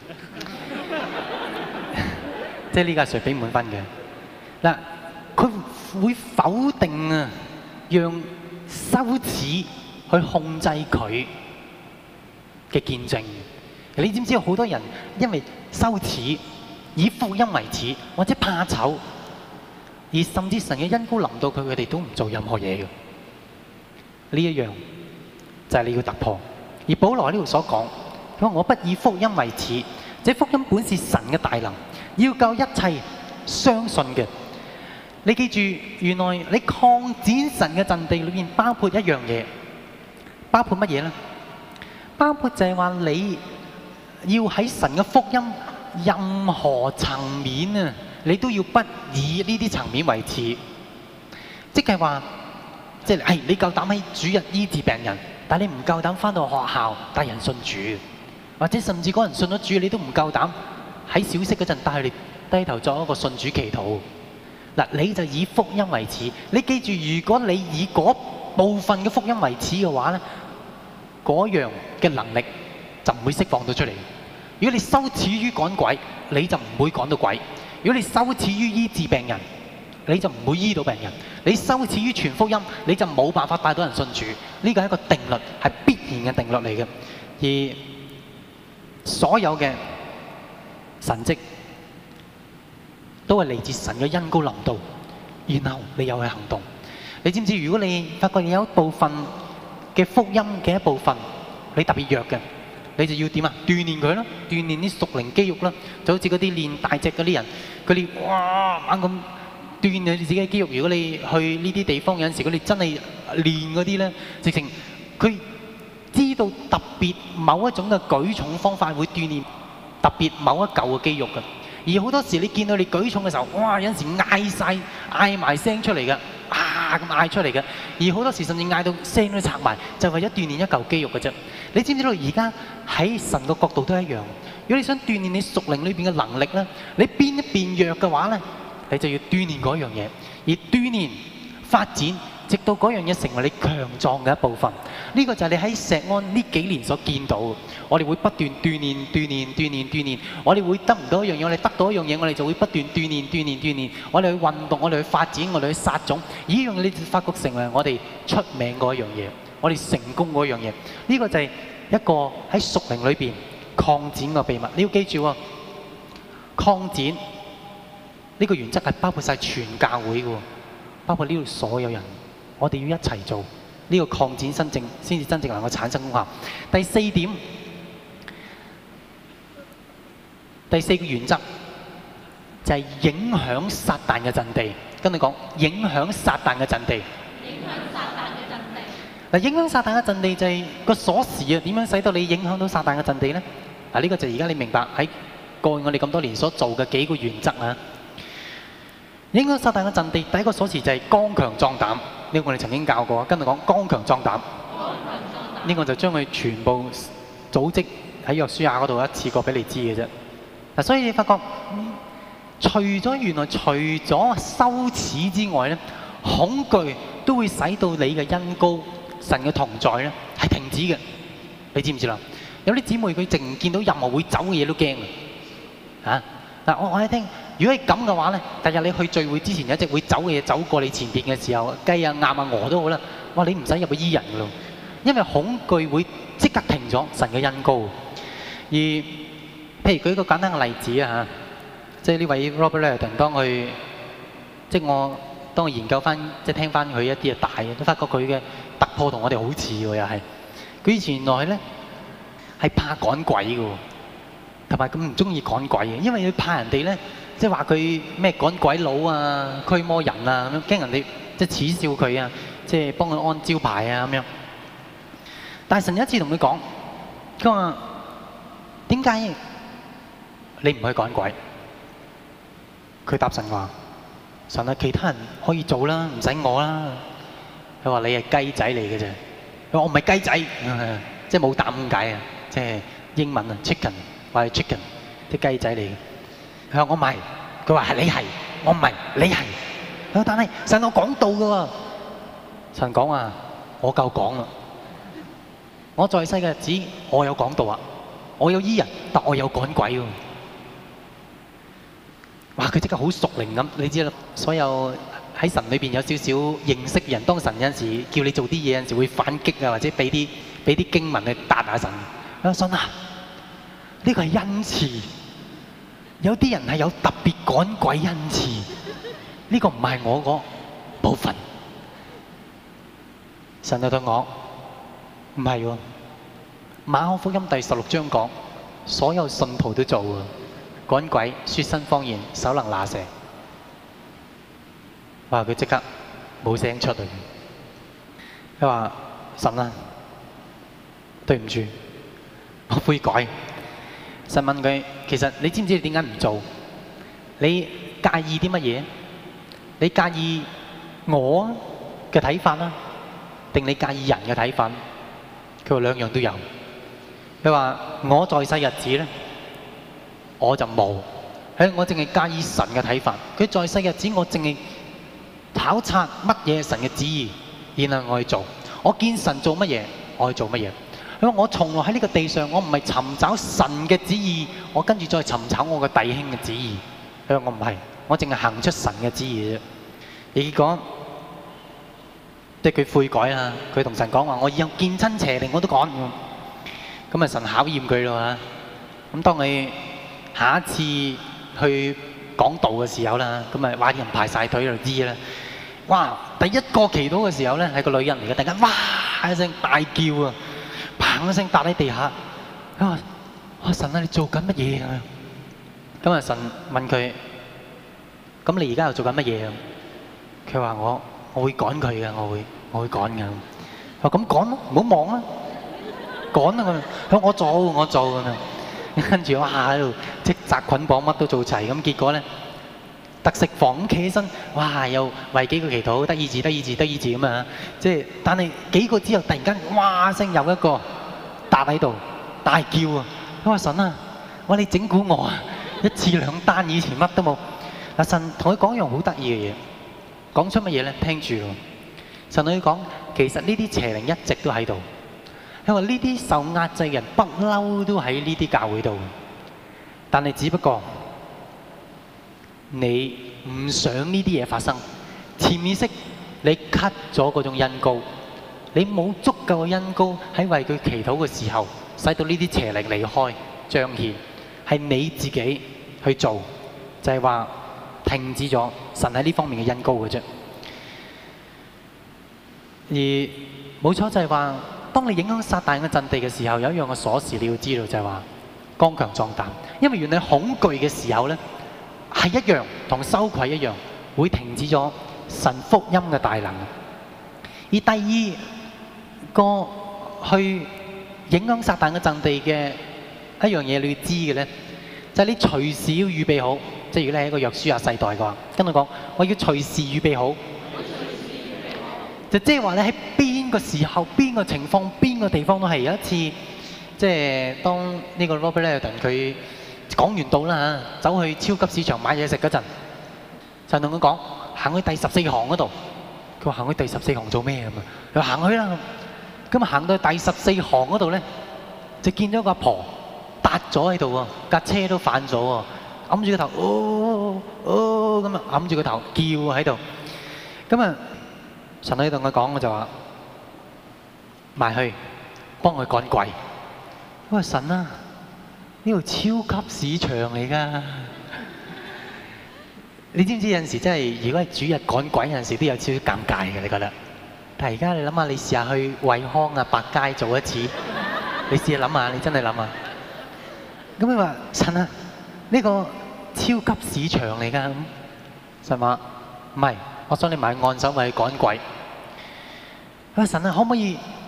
即係呢個阿 Sir 俾滿分嘅嗱，佢會否定啊，讓羞恥去控制佢嘅見證。你知唔知有好多人因為羞恥以福音為恥，或者怕醜，而甚至神嘅恩膏臨到佢，佢哋都唔做任何嘢嘅。呢一樣就係你要突破。而保羅喺呢度所講，佢話我不以福音為恥，這福音本是神嘅大能。要救一切相信嘅，你記住，原來你擴展神嘅陣地裏面包括一樣嘢，包括乜嘢呢？包括就係話你要喺神嘅福音任何層面啊，你都要不以呢啲層面為恥，即係話，即係係你夠膽喺主日醫治病人，但係你唔夠膽返到學校帶人信主，或者甚至嗰人信咗主，你都唔夠膽喺小息嗰陣帶佢哋低頭作一個信主祈禱。嗱，你就以福音為恥。你記住，如果你以嗰部分嘅福音為恥嘅話咧，嗰樣嘅能力就唔會釋放到出嚟。如果你羞恥於趕鬼，你就唔會趕到鬼；如果你羞恥於醫治病人，你就唔會醫到病人；你羞恥於傳福音，你就冇辦法帶到人信主。呢個係一個定律，係必然嘅定律嚟嘅。而所有嘅神蹟都係嚟自神嘅恩膏臨到，然後你又去行動。你知唔知？如果你發覺有一部分嘅福音嘅一部分你特別弱嘅，你就要點啊？鍛鍊佢咯，鍛鍊啲屬靈肌肉啦，就好似嗰啲練大隻嗰啲人，佢哋哇猛咁鍛鍊你自己嘅肌肉。如果你去呢啲地方有陣時，佢哋真係練嗰啲咧，直情佢知道特別某一種嘅舉重方法會鍛鍊特別某一嚿嘅肌肉嘅。而好多時你見到你舉重嘅時候，哇！有陣時嗌晒嗌埋聲出嚟嘅，啊咁嗌出嚟嘅。而好多時甚至嗌到聲都拆埋，就為咗鍛鍊一嚿肌肉嘅啫。你知唔知道而家喺神嘅角度都一樣？如果你想鍛鍊你屬靈裏邊嘅能力咧，你邊一邊弱嘅話咧，你就要鍛鍊嗰樣嘢，而鍛鍊發展，直到嗰樣嘢成為你強壯嘅一部分。呢個就係你喺石安呢幾年所見到嘅。我哋會不斷鍛鍊、鍛鍊、鍛鍊、鍛鍊。我哋會得唔到一樣嘢，我哋得到一樣嘢，我哋就會不斷鍛鍊、鍛鍊、鍛鍊。我哋去運動，我哋去發展，我哋去撒種。而呢樣嘢你就發覺成為我哋出名嗰一樣嘢，我哋成功嗰樣嘢。呢個就係一個喺屬靈裏邊擴展嘅秘密。你要記住喎，擴展呢個原則係包括晒全教會嘅，包括呢度所有人。我哋要一齊做呢個擴展，真正先至真正能夠產生功效。第四點，第四個原則就係影響撒旦嘅陣地。跟你講，影響撒旦嘅陣地。影響撒旦嘅陣地。嗱，影響撒旦嘅陣地就係個鎖匙啊！點樣使到你影響到撒旦嘅陣地咧？嗱，呢個就係而家你明白喺過去我哋咁多年所做嘅幾個原則啊！影響撒旦嘅陣地，第一個鎖匙就係剛強壯膽。呢個我哋曾經教過，跟住講剛強壯膽。呢個就將佢全部組織喺約書亞嗰度一次過俾你知嘅啫。嗱，所以你發覺，除咗原來除咗羞恥之外咧，恐懼都會使到你嘅恩膏、神嘅同在咧係停止嘅。你知唔知啦？有啲姊妹佢淨見到任何會走嘅嘢都驚嘅。啊，嗱，我我喺聽。如果係咁嘅話咧，第日你去聚會之前有一隻會走嘅嘢走過你前邊嘅時候，雞啊、鴨啊、鵝都好啦，哇！你唔使入去醫人噶咯，因為恐懼會即刻停咗神嘅恩膏。而譬如舉一個簡單嘅例子啊嚇，即係呢位 Robert Liardon 當佢，即係我當我研究翻，即係聽翻佢一啲嘅大嘅，都發覺佢嘅突破同我哋好似喎，又係佢以前原來咧係怕趕鬼嘅喎，同埋咁唔中意趕鬼嘅，因為佢怕人哋咧。即係話佢咩趕鬼佬啊、驅魔人啊咁樣，驚人哋即係恥笑佢啊，即係幫佢安招牌啊咁樣。 但係神有一次同佢講，佢話點解你唔去趕鬼？佢答神話：神啊，其他人可以做啦，唔使我啦。佢話你係雞仔嚟嘅啫。佢話我唔係雞仔，即係冇膽咁解啊！即係英文啊 ，chicken 或者 chicken 啲雞仔嚟嘅。佢話我唔係，佢話係你係，我唔係，你係。佢話但係神我講道嘅喎，神講話我夠講啦。我在世嘅日子，我有講道啊，我有醫人，但我有趕鬼喎。哇！佢即刻好熟靈咁，你知啦，所有喺神裏邊有少少認識嘅人，當神有陣時叫你做啲嘢，有陣時會反擊啊，或者俾啲俾啲經文去答下神。啊，信啊！呢個係恩賜，有啲人係有特別趕鬼恩賜，呢個唔係我嗰部分。神就對我唔係喎，馬可福音第十六章講，所有信徒都做喎。趕鬼、說新方言、手能拿蛇，哇！佢即刻冇聲出嚟。佢話：神啊，對唔住，我悔改。神問佢：其實你知唔知你點解唔做？你介意啲乜嘢？你介意我嘅睇法啦，定你介意人嘅睇法？佢話兩樣都有。佢話：我在世日子咧，我就冇，喺我淨係介意神嘅睇法。佢在世日子，我淨係考察乜嘢神嘅旨意，然後我去做。我見神做乜嘢，我去做乜嘢。佢話我從來喺呢個地上，我唔係尋找神嘅旨意，我跟住再尋找我嘅弟兄嘅旨意。佢話我唔係，我淨係行出神嘅旨意啫。結果即係佢悔改啦，佢同神講話：我以後見親邪靈我都趕。咁啊，神考驗佢咯嚇。咁當你下一次去講道嘅時候啦，咁啊，哇！啲人排晒隊就知啦。哇！第一個祈禱嘅時候咧，係個女人嚟嘅，突然間哇一聲大叫啊，砰一聲笪喺地下。佢話：哇！神啊，你做緊乜嘢啊？咁啊，神問佢：咁你而家又做緊乜嘢啊？佢話：我我會趕佢嘅，我會我會趕嘅。我話：咁趕咯，唔好望啊，趕啊！佢話：我做我做咁樣。跟住哇喺度積紮捆綁乜都做齊，咁結果咧特食房咁企起身，哇又為幾個祈禱，得醫治得醫治得醫治咁啊！即係但係幾個之後，突然間哇聲有一個笪喺度大叫啊！佢話：神啊，我話你整蠱我啊！一次兩單，以前乜都冇。嗱，神同佢講一樣好得意嘅嘢，講出乜嘢咧？聽住咯。神同佢講，其實呢啲邪靈一直都喺度。佢話呢啲受壓制嘅人不嬲都喺呢啲教會度，但係只不過你唔想呢啲嘢發生，潛意識你 cut 咗嗰種恩膏，你冇足夠嘅恩膏喺為佢祈禱嘅時候，使到呢啲邪靈離開彰顯，係你自己去做，就係話停止咗神喺呢方面嘅恩膏嘅啫。而冇錯就係話，當你影響撒旦嘅陣地嘅時候，有一樣嘅鎖匙你要知道，就係話剛強壯膽。因為原來恐懼嘅時候咧，係一樣同羞愧一樣，會停止咗神福音嘅大能。而第二個去影響撒旦嘅陣地嘅一樣嘢，你要知嘅咧，就係你隨時要預備好。即係如果你係一個約書亞世代嘅話，跟我講，我要隨時預備好。就即係話你喺邊個時候、邊個情況、邊個地方都係。有一次，即係當呢個 Robert Liardon 佢講完道啦嚇，走去超級市場買嘢食嗰陣，就同佢講行去第十四行嗰度。佢話行去第十四行做咩咁啊？佢話行去啦。咁啊行到第十四行嗰度咧，就見咗個阿婆笪咗喺度喎，架車都反咗喎，揞住個頭，哦哦咁啊，揞住個頭叫喺度。咁啊〜神喺度同佢講，我就話埋去幫佢趕鬼。我話神啊，呢度超級市場嚟㗎。你知唔知有陣時真係，如果係主日趕鬼有陣時都有少少尷尬嘅，你覺得？但係而家你諗下，你試下去惠康啊、百佳做一次，你試下諗下，你真係諗下。咁你話神啊，呢個超級市場嚟㗎。咁神話唔係。我想你買按手為趕鬼。啊神啊，可唔可以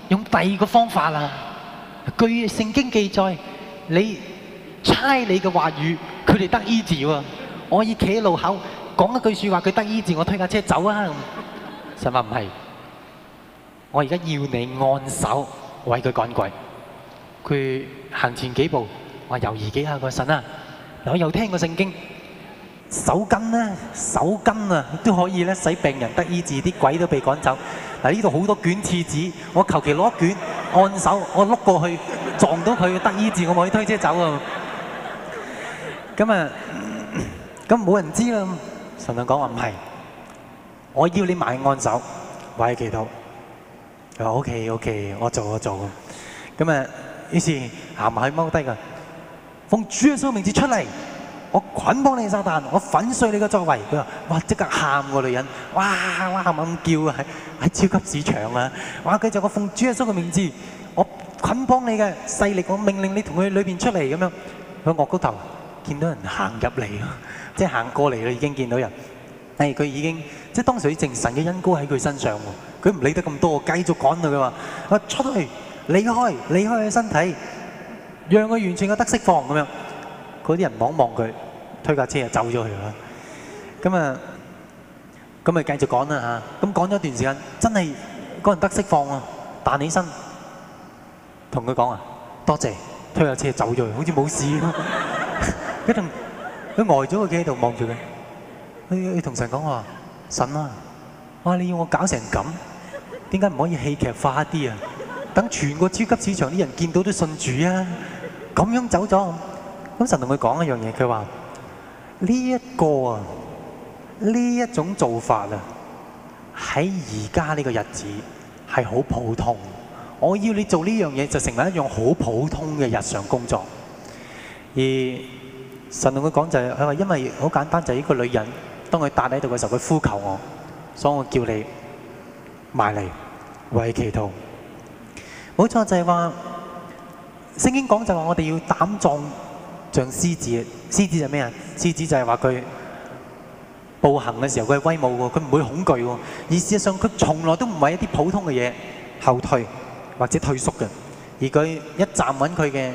用第二個方法啦。據聖經記載，你差你嘅話語，佢哋得醫治喎。我可以企喺路口講一句説話，佢得醫治，我推架車走啊！神話唔係，我而家要你按手為佢趕鬼。佢行前幾步，我猶豫幾下個神啊！我又聽過聖經。手巾咧，手巾啊，都可以咧，使病人得醫治，啲鬼都被趕走。嗱，呢度好多卷廁紙，我求其攞一卷按手，我碌過去撞到佢得醫治，我咪可以推車走啊！咁啊，咁冇人知啦。神就講話唔係，我要你埋按手，為佢祈禱。佢話 OK OK，我做我做。咁啊，於是行埋去踎低噶，奉主耶穌名字出嚟。我捆綁你撒旦，我粉碎你嘅作為。佢話：哇！即刻喊個女人，哇哇喊咁叫啊！喺喺超級市場啊！哇！佢就我奉主耶穌嘅名字，我捆綁你嘅勢力，我命令你同佢裏邊出嚟咁樣。佢惡高頭，見到人行入嚟，即係行過嚟啦，已經見到人。誒，佢已經即係當時佢證神嘅恩膏喺佢身上喎。佢唔理得咁多，繼續趕佢。佢話：我出去，離開，離開佢身體，讓佢完全嘅得釋放咁樣。嗰啲人望望佢。推架車就走咗去啦，咁啊，咁咪繼續講啦嚇。咁講咗一段時間，真係嗰人得釋放啊，彈起身，同佢講啊，多謝，推架車走咗去，好似冇事咁。佢同佢呆咗，佢企喺度望住佢。佢佢同神講話：神啊，哇！你要我搞成咁，點解唔可以戲劇化一啲啊？等全個超級市場啲人見到都信主啊！咁樣走咗，咁神同佢講一樣嘢，佢話。呢一個啊，呢一種做法啊，喺而家呢個日子係好普通。我要你做呢樣嘢，就成為一樣好普通嘅日常工作。而神同佢講就係，佢話因為好簡單，就係呢個女人，當佢搭喺度嘅時候，佢呼求我，所以我叫你埋嚟為祈禱。冇錯，就係話聖經講就話我哋要膽壯。像獅子，獅子就咩啊？獅子就係話佢步行嘅時候，佢係威武喎，佢唔會恐懼喎。而事實上，佢從來都唔係一啲普通嘅嘢後退或者退縮嘅，而佢一站穩佢嘅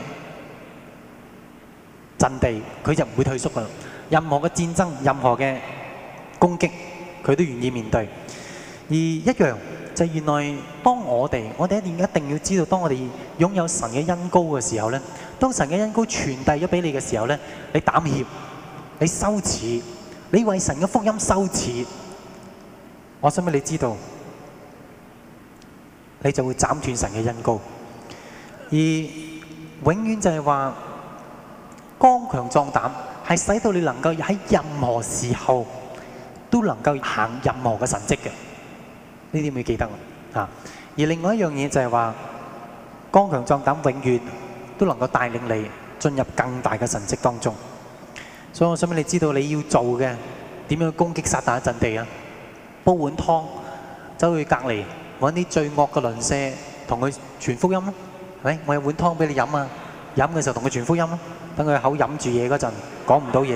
陣地，佢就唔會退縮㗎。任何嘅戰爭、任何嘅攻擊，佢都願意面對。而一樣就係原來當我哋，我哋一定一定要知道，當我哋擁有神嘅恩膏嘅時候咧。當神嘅恩膏傳遞咗俾你嘅時候咧，你膽怯，你羞恥，你為神嘅福音羞恥，我想俾你知道，你就會斬斷神嘅恩膏。而永遠就係話剛強壯膽，係使到你能夠喺任何時候都能夠行任何嘅神蹟嘅。呢啲要記得啊！而另外一樣嘢就係話剛強壯膽，永遠都能夠帶領你進入更大嘅神蹟當中，所以我想俾你知道你要做嘅點樣攻擊撒旦一陣地啊！煲碗湯，走去隔離揾啲最惡嘅鄰舍，同佢傳福音咯，係咪？我有碗湯俾你飲啊！飲嘅時候同佢傳福音咯，等佢口飲住嘢嗰陣講唔到嘢，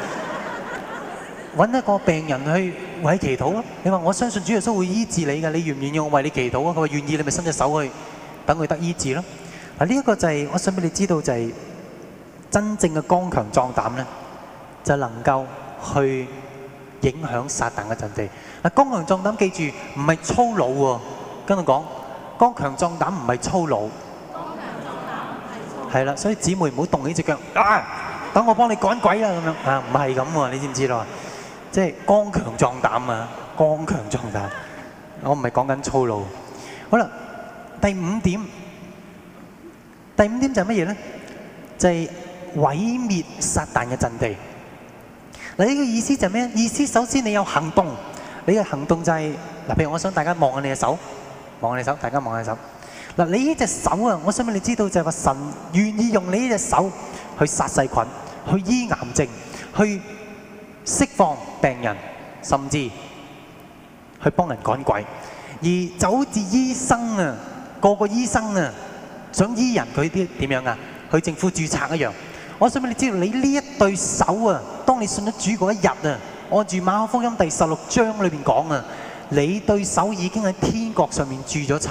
揾一個病人去為祈禱咯。你話我相信主耶穌會醫治你㗎，你願唔願意我為你祈禱啊？佢話願意，你咪伸隻手去等佢得醫治咯。嗱，呢一個就係、是、我想俾你知道，就係真正嘅剛強壯膽咧，就能夠去影響撒旦嘅陣地。嗱，剛強壯膽記住唔係粗魯喎，跟我講，剛強壯膽唔係粗魯。剛強壯膽唔係粗魯。係啦，所以姊妹唔好動起隻腳，啊，等我幫你趕鬼啦咁樣啊，唔係咁喎，你知唔知道啊？即係剛強壯膽啊，剛強壯膽。我唔係講緊粗魯。好啦，第五點。第五點就係乜嘢咧？就係、是、毀滅撒旦嘅陣地。嗱，呢個意思就係咩？意思首先你有行動，你嘅行動就係、是、嗱，譬如我想大家望下你嘅手，望下你手，大家望下手。嗱，你呢隻手啊，我想俾你知道就係話神願意用你呢隻手去殺細菌、去醫癌症、去釋放病人，甚至去幫人趕鬼。而就好似醫生啊，個個醫生啊，想醫人佢啲點樣啊？去政府註冊一樣。我想俾你知道，你呢一對手啊，當你信咗主嗰一日啊，按住馬可福音第十六章裏邊講啊，你對手已經喺天國上面註咗冊。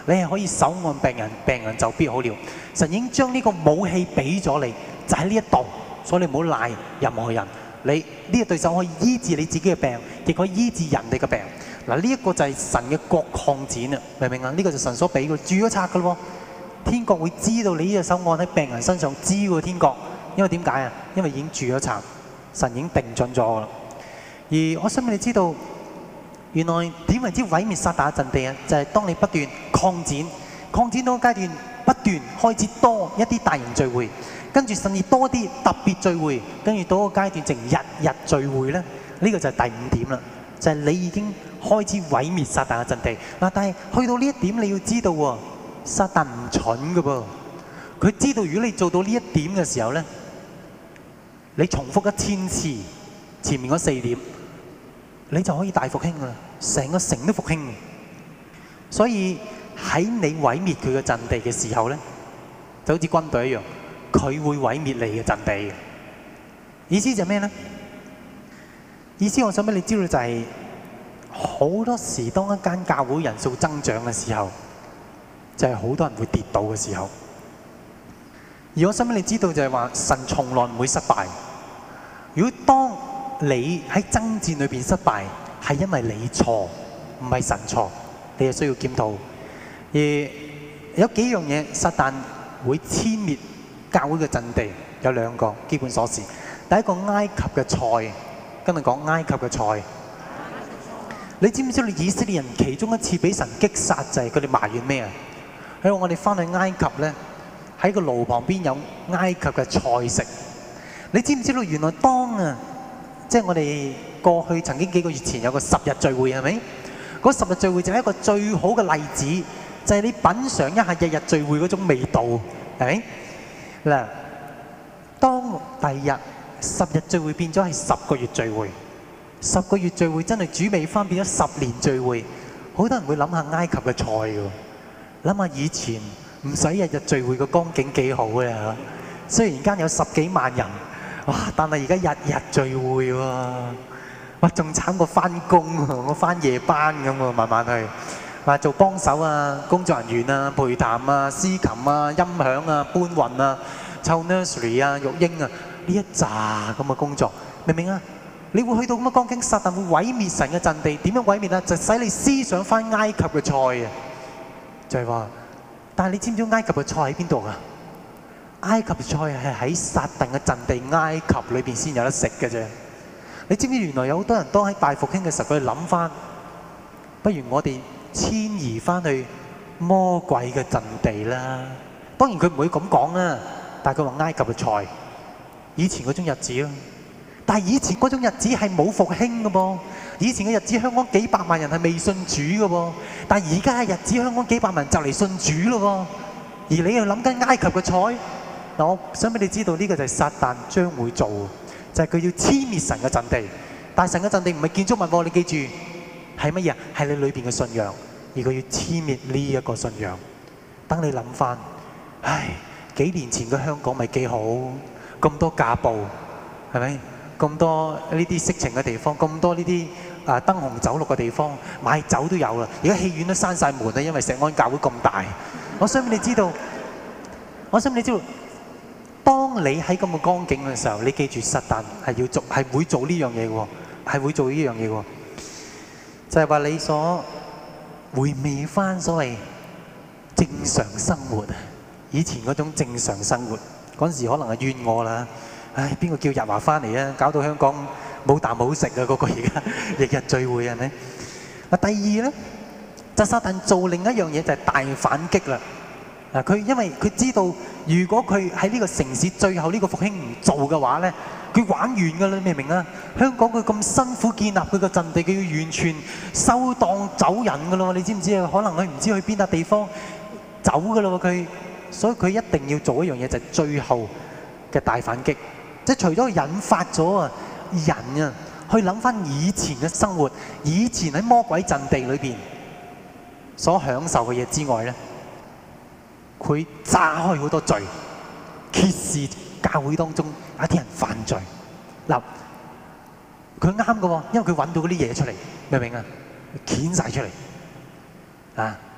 你係可以手按病人，病人就必好了。神已經將呢個武器俾咗你，就喺呢一度，所以你唔好賴任何人。你呢個對手可以醫治你自己嘅病，亦可以醫治人哋嘅病。嗱，呢一個就係神嘅國擴展啊，明唔明啊？呢、這個就神所俾嘅，註咗冊嘅咯。天國會知道你呢隻手按喺病人身上，知喎天國，因為點解啊？因為已經註咗冊，神已經定準咗啦。而我想俾你知道，原來點為之毀滅撒旦嘅陣地啊？就係、是、當你不斷擴展，擴展到個階段，不斷開始多一啲大型聚會，跟住甚至多啲特別聚會，跟住到個階段，淨日日聚會咧。呢、這個就係第五點啦，就係、是、你已經開始毀滅撒旦嘅陣地嗱。但係去到呢一點，你要知道喎，撒旦唔蠢嘅噃，佢知道如果你做到呢一點嘅時候咧，你重複一千次前面嗰四點，你就可以大復興噶啦，成個城都復興。所以喺你毀滅佢嘅陣地嘅時候咧，就好似軍隊一樣，佢會毀滅你嘅陣地嘅。意思就係咩咧？意思我想俾你知道就係、是，好多時當一間教會人數增長嘅時候，就係、是、好多人會跌倒嘅時候。而我想俾你知道就係話，神從來唔會失敗。如果當你喺爭戰裏邊失敗，係因為你錯，唔係神錯，你係需要檢討。而有幾樣嘢，撒旦會殲滅教會嘅陣地，有兩個基本鎖匙。第一個埃及嘅菜，跟住講埃及嘅菜。你知唔知道以色列人其中一次俾神擊殺就係佢哋埋怨咩啊？佢話我哋翻去埃及咧，喺個爐旁邊有埃及嘅菜食。你知唔知道原來當啊，即係我哋過去曾經幾個月前有個十日聚會係咪？嗰十日聚會就係一個最好嘅例子，就係你品嚐一下日日聚會嗰種味道，係咪？嗱，當第二日十日聚會變咗係十個月聚會，十個月聚會真係煮味翻變咗十年聚會，好多人會諗下埃及嘅菜㗎，諗下以前唔使日日聚會嘅光景幾好嘅嚇，雖然間有十幾萬人。哇！但係而家日日聚會喎，哇！仲慘過翻工喎，我翻夜班咁喎，慢慢去，話做幫手啊、工作人員啊、陪談啊、司琴啊、音響啊、搬運啊、湊 nursery 啊、育嬰啊，呢一紮咁嘅工作，明唔明啊？你會去到咁嘅光景，撒旦會毀滅神嘅陣地，點樣毀滅啊？就使你思想翻埃及嘅菜啊！就係話，但係你知唔知埃及嘅菜喺邊度啊？埃及菜係喺撒旦嘅陣地埃及裏邊先有得食嘅啫。你知唔知原來有好多人當喺大復興嘅時候，佢哋諗翻，不如我哋遷移翻去魔鬼嘅陣地啦。當然佢唔會咁講啦，但係佢話埃及嘅菜，以前嗰種日子咯。但係以前嗰種日子係冇復興嘅噃。以前嘅日子香港幾百萬人係未信主嘅噃，但係而家嘅日子香港幾百萬人就嚟信主咯喎。而你又諗緊埃及嘅菜？嗱，我想俾你知道呢個就係撒旦將會做，就係佢要殲滅神嘅陣地。但係神嘅陣地唔係建築物喎，你記住係乜嘢？係你裏邊嘅信仰，而佢要殲滅呢一個信仰。等你諗翻，唉，幾年前嘅香港咪幾好，咁多架步，係咪？咁多呢啲色情嘅地方，咁多呢啲啊燈紅酒綠嘅地方，買酒都有啦。而家戲院都閂晒門啦，因為石安教會咁大。我想俾你知道，我想俾你知道。當你喺咁嘅光景嘅時候，你記住撒旦係要做，係會做呢樣嘢嘅喎，係會做呢樣嘢嘅喎，就係話你所回味翻所謂正常生活，以前嗰種正常生活，嗰陣時可能係怨我啦，唉，邊個叫日華翻嚟啊？搞到香港冇啖好食啊！嗰個而家日日聚會係咪？嗱，第二咧，就撒旦做另一樣嘢就係大反擊啦。嗱，佢因為佢知道，如果佢喺呢個城市最後呢個復興唔做嘅話咧，佢玩完㗎啦，你明唔明啊？香港佢咁辛苦建立佢個陣地，佢要完全收檔走人㗎咯，你知唔知啊？可能佢唔知去邊笪地方走㗎咯，佢，所以佢一定要做一樣嘢，就係最後嘅大反擊。即係除咗引發咗啊人啊去諗翻以前嘅生活，以前喺魔鬼陣地裏邊所享受嘅嘢之外咧。佢炸開好多罪，揭示教會當中有啲人犯罪。嗱，佢啱嘅喎，因為佢揾到嗰啲嘢出嚟，明唔明啊？掀晒出嚟啊！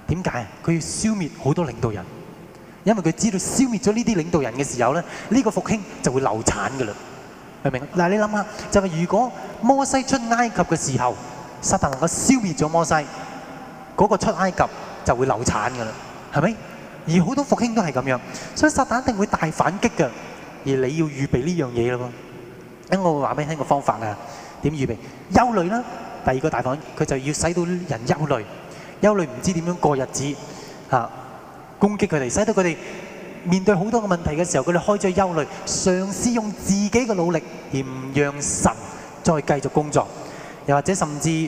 點解？佢要消滅好多領導人，因為佢知道消滅咗呢啲領導人嘅時候咧，呢個復興就會流產㗎啦。明唔明？嗱，你諗下，就係如果摩西出埃及嘅時候，撒旦能夠消滅咗摩西，嗰個出埃及就會流產㗎啦，係咪？而好多復興都係咁樣，所以撒旦一定會大反擊㗎。而你要預備呢樣嘢咯喎。咁我會話俾你聽個方法啊，點預備？憂慮啦，第二個大反擊，佢就要使到人憂慮，憂慮唔知點樣過日子嚇，攻擊佢哋，使到佢哋面對好多個問題嘅時候，佢哋開始憂慮，嘗試用自己嘅努力而唔讓神再繼續工作，又或者甚至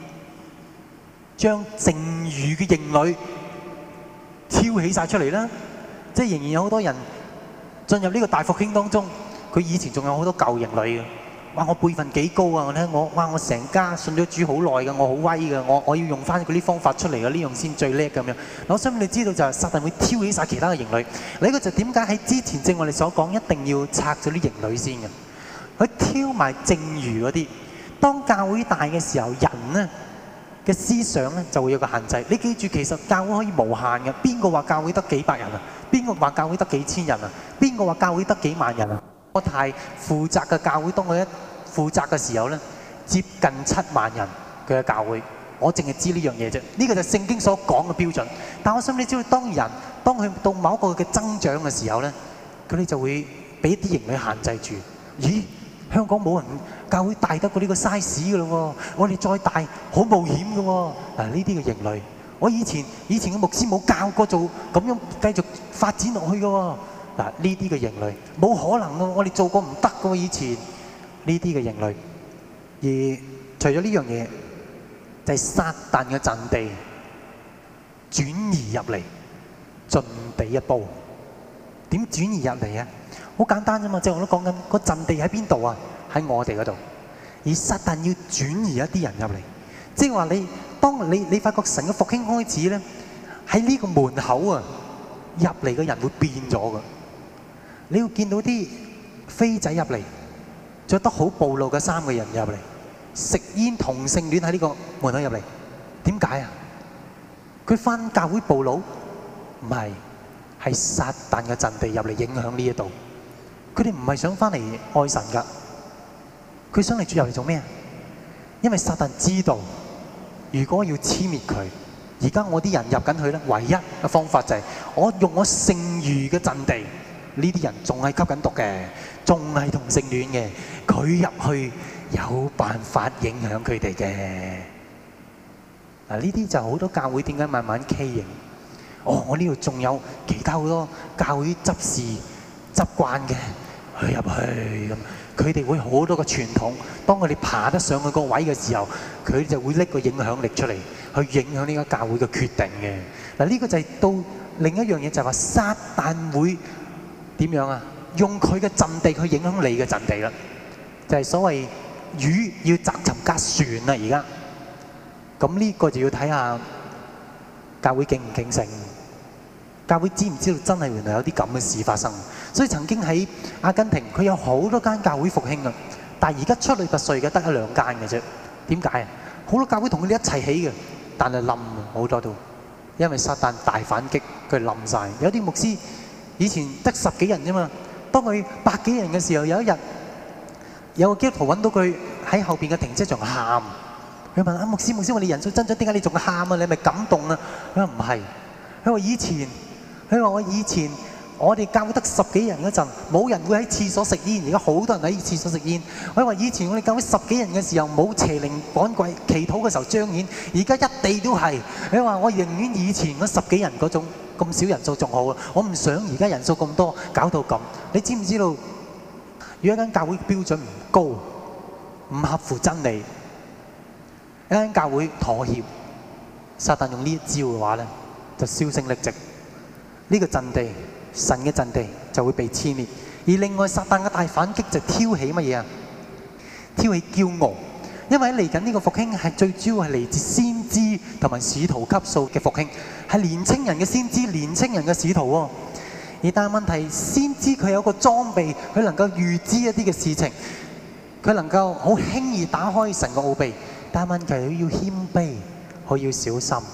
將剩餘嘅營壘挑起晒出嚟啦。即係仍然有好多人進入呢個大復興當中，佢以前仲有好多舊營壘嘅。哇！我輩份幾高啊！我睇我哇！我成家信咗主好耐嘅，我好威嘅，我我要用翻嗰啲方法出嚟嘅，呢樣先最叻咁樣。我想你知道就係撒旦會挑起晒其他嘅營壘。呢個就點解喺之前正我哋所講，一定要拆咗啲營壘先嘅。佢挑埋剩餘嗰啲。當教會大嘅時候，人呢嘅思想咧就會有個限制。你記住，其實教會可以無限嘅。邊個話教會得幾百人啊？邊個話教會得幾千人啊？邊個話教會得幾萬人啊？我太負責嘅教會，當佢一負責嘅時候咧，接近七萬人佢嘅教會，我淨係知呢樣嘢啫。呢個就係聖經所講嘅標準。但我想你知道，當人當佢到某一個嘅增長嘅時候咧，佢哋就會俾啲營壘限制住。咦？香港冇人教會大得過呢個 size 嘅咯喎，我哋再大好冒險嘅喎。嗱，呢啲嘅營壘，我以前以前嘅牧師冇教過做咁樣繼續發展落去嘅喎。嗱，呢啲嘅營壘冇可能嘅，我哋做過唔得嘅喎。以前呢啲嘅營壘，而除咗呢樣嘢，就係撒旦嘅陣地轉移入嚟，進地一步。點轉移入嚟啊？好簡單啫嘛，即係我都講緊個陣地喺邊度啊？喺我哋嗰度。而撒旦要轉移一啲人入嚟，即係話你當你你發覺神嘅復興開始咧，喺呢個門口啊入嚟嘅人會變咗㗎。你要見到啲飛仔入嚟，著得好暴露嘅衫嘅人入嚟，食煙同性戀喺呢個門口入嚟。點解啊？佢返教會暴露？唔係，係撒旦嘅陣地入嚟影響呢一度。佢哋唔係想返嚟愛神㗎，佢想嚟住入嚟做咩啊？因為撒旦知道，如果要殲滅佢，而家我啲人入緊去咧，唯一嘅方法就係我用我剩餘嘅陣地。呢啲人仲係吸緊毒嘅，仲係同性戀嘅，佢入去有辦法影響佢哋嘅。嗱，呢啲就好多教會點解慢慢畸形？哦，我呢度仲有其他好多教會執事習慣嘅，去入去咁，佢哋會好多個傳統。當佢哋爬得上去個位嘅時候，佢就會拎個影響力出嚟，去影響呢個教會嘅決定嘅。嗱，呢個就係到另一樣嘢，就係話撒旦會點樣啊？用佢嘅陣地去影響你嘅陣地啦，就係所謂魚要責尋架船啦。而家咁呢個就要睇下教會警唔警醒，教會知唔知道真係原來有啲咁嘅事發生。所以曾經喺阿根廷，佢有好多間教會復興啊，但係而家出類拔萃嘅得一兩間嘅啫。點解啊？好多教會同佢哋一齊起嘅，但係冧好多都，因為撒旦大反擊，佢冧晒。有啲牧師以前得十幾人啫嘛，當佢百幾人嘅時候，有一日有個基督徒揾到佢喺後邊嘅停車場喊，佢問啊，牧師牧師，我哋人數增長，點解你仲喊啊？你係咪感動啊？佢話唔係，佢話以前，佢話我以前我哋教會得十幾人嗰陣，冇人會喺廁所食煙，而家好多人喺廁所食煙。佢話以前我哋教會十幾人嘅時候，冇邪靈趕鬼，祈禱嘅時候彰顯，而家一地都係。佢話我寧願以前嗰十幾人嗰種咁少人數仲好啊！我唔想而家人數咁多，搞到咁。你知唔知道？如果一間教會標準唔高，唔合乎真理，一間教會妥協，撒旦用呢一招嘅話咧，就銷聲匿跡。呢個陣地，神嘅陣地就會被殲滅。而另外，撒旦嘅大反擊就挑起乜嘢啊？挑起驕傲。因為嚟緊呢個復興係最主要係嚟自先知同埋使徒級數嘅復興，係年青人嘅先知、年青人嘅使徒喎。而但係問題，先知佢有個裝備，佢能夠預知一啲嘅事情，佢能夠好輕易打開神嘅奧秘。但係問題，佢要謙卑，佢要小心。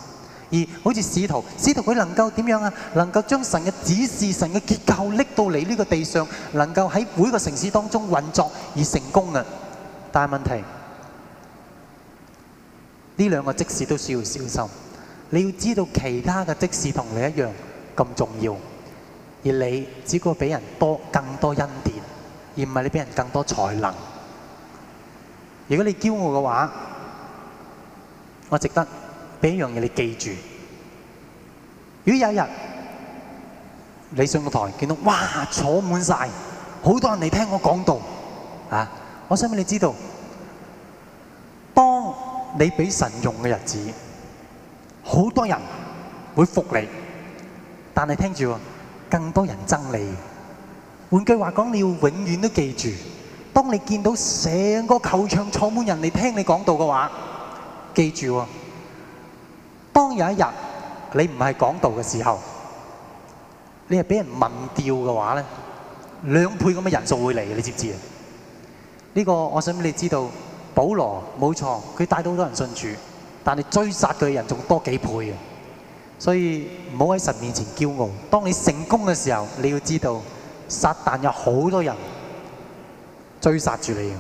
而好似使徒，使徒佢能夠點樣啊？能夠將神嘅指示、神嘅結構拎到嚟呢個地上，能夠喺每個城市當中運作而成功嘅。但係問題，呢兩個職事都需要小心。你要知道，其他嘅職事同你一樣咁重要，而你只不過俾人多更多恩典，而唔係你俾人更多才能。如果你驕傲嘅話，我值得俾一樣嘢你記住。如果有一日你上個台見到哇坐滿晒，好多人嚟聽我講道啊，我想俾你知道，當你俾神用嘅日子，好多人會服你，但係聽住喎，更多人憎你。換句話講，你要永遠都記住，當你見到成個球場坐滿人嚟聽你講道嘅話，記住喎，當有一日你唔係講道嘅時候，你係俾人問掉嘅話咧，兩倍咁嘅人數會嚟，你知唔知啊？呢個我想俾你知道，保羅冇錯，佢帶到好多人信主，但係追殺佢嘅人仲多幾倍啊！所以唔好喺神面前驕傲。當你成功嘅時候，你要知道，撒旦有好多人追殺住你。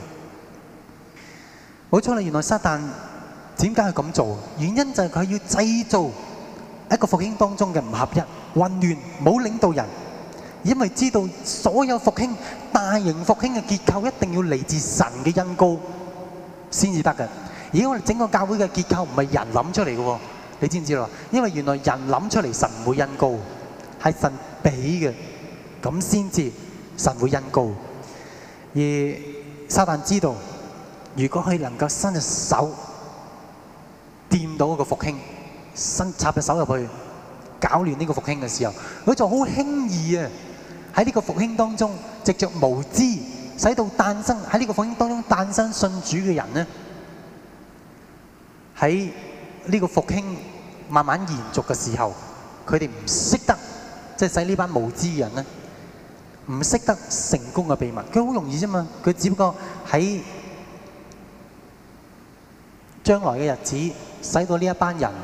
冇錯啦，原來撒旦點解係咁做？原因就係佢要製造一個復興當中嘅唔合一、混亂、冇領導人。因為知道所有復興、大型復興嘅結構一定要嚟自神嘅恩膏先至得嘅。而我哋整個教會嘅結構唔係人諗出嚟嘅喎，你知唔知道？因為原來人諗出嚟神唔會恩膏，係神俾嘅，咁先至神會恩膏。而撒旦知道，如果佢能夠伸隻手掂到一個復興，伸插隻手入去搞亂呢個復興嘅時候，佢就好輕易啊！喺呢個復興當中，藉着無知，使到誕生喺呢個復興當中誕生信主嘅人呢，喺呢個復興慢慢延續嘅時候，佢哋唔識得，即係使呢班無知嘅人呢，唔識得成功嘅秘密。佢好容易啫嘛，佢只不過喺將來嘅日子，使到呢一班人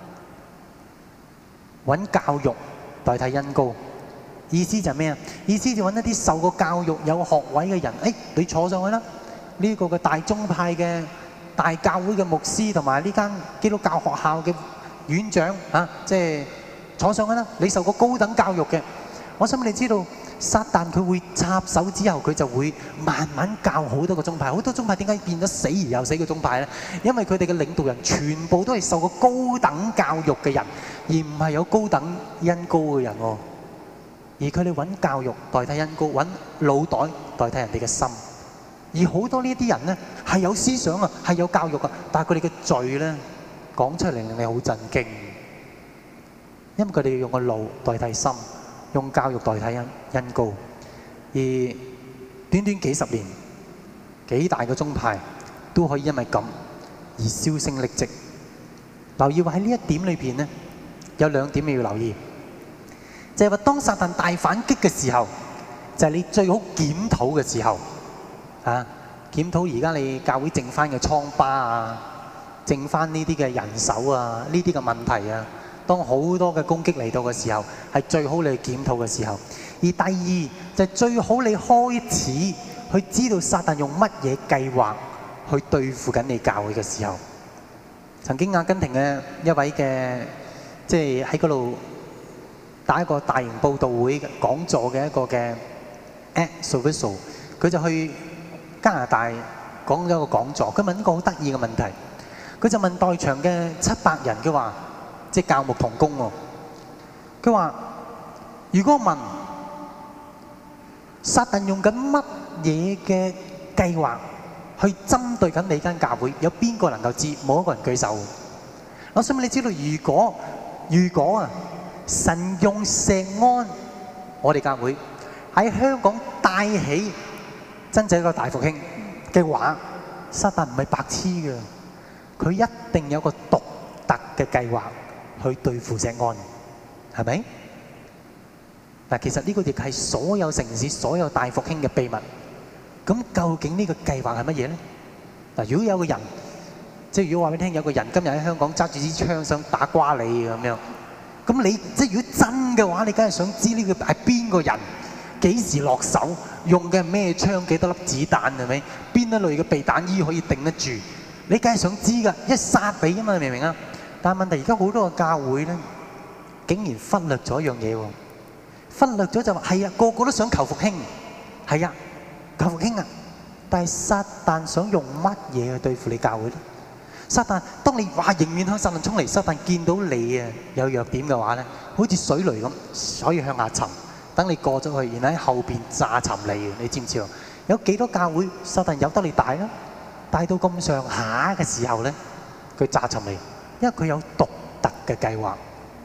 揾教育代替恩膏。意思就係咩啊？意思就揾一啲受過教育、有學位嘅人，誒，你坐上去啦！呢個嘅大宗派嘅大教會嘅牧師同埋呢間基督教學校嘅院長啊，即係坐上去啦！你受過高等教育嘅，我想你知道，撒旦佢會插手之後，佢就會慢慢教好多個宗派。好多宗派點解變咗死而又死嘅宗派咧？因為佢哋嘅領導人全部都係受過高等教育嘅人，而唔係有高等恩膏嘅人喎。而佢哋揾教育代替恩膏，揾腦袋代替人哋嘅心。而好多呢啲人咧係有思想啊，係有教育啊，但係佢哋嘅罪咧講出嚟令你好震驚，因為佢哋要用個腦代替心，用教育代替恩恩膏。而短短幾十年，幾大嘅宗派都可以因為咁而銷聲匿跡。留意話喺呢一點裏邊咧，有兩點你要留意。就係話，當撒旦大反擊嘅時候，就係你最好檢討嘅時候啊！檢討而家你教會剩翻嘅瘡疤啊，剩翻呢啲嘅人手啊，呢啲嘅問題啊，當好多嘅攻擊嚟到嘅時候，係最好你去檢討嘅時候。而第二就係最好你開始去知道撒旦用乜嘢計劃去對付緊你教會嘅時候。曾經阿根廷嘅一位嘅即係喺嗰度打一個大型佈道會講座嘅一個嘅 Ed Silvoso， 佢就去加拿大講咗一個講座。佢問一個好得意嘅問題，佢就問在場嘅七百人，佢話即係教牧同工喎。佢話：如果問撒旦用緊乜嘢嘅計劃去針對緊你間教會，有邊個能夠知？冇一個人舉手。我想問你知道，如果如果啊？神用石安，我哋教會喺香港帶起真正一個大復興嘅話，撒旦唔係白痴嘅，佢一定有個獨特嘅計劃去對付石安，係咪？嗱，其實呢個亦係所有城市、所有大復興嘅秘密。咁究竟呢個計劃係乜嘢咧？嗱，如果有個人即係如果話俾你聽，有個人今日喺香港揸住支槍想打瓜你咁樣，咁你即係如果真嘅話，你梗係想知呢個係邊個人，幾時落手，用嘅係咩槍，幾多粒子彈係咪？邊一類嘅避彈衣可以頂得住？你梗係想知㗎，一殺你啊嘛，明唔明啊？但係問題而家好多個教會咧，竟然忽略咗一樣嘢喎，忽略咗就話係啊，個個都想求復興，係啊，求復興啊，但係撒旦想用乜嘢去對付你教會咧？撒旦，當你話迎面向撒旦衝嚟，撒旦見到你啊有弱點嘅話咧，好似水雷咁，可以向下沉，等你過咗去，然後喺後邊炸沉你嘅，你知唔知啊？有幾多教會撒旦由得你大啦？大到咁上下嘅時候咧，佢炸沉你，因為佢有獨特嘅計劃。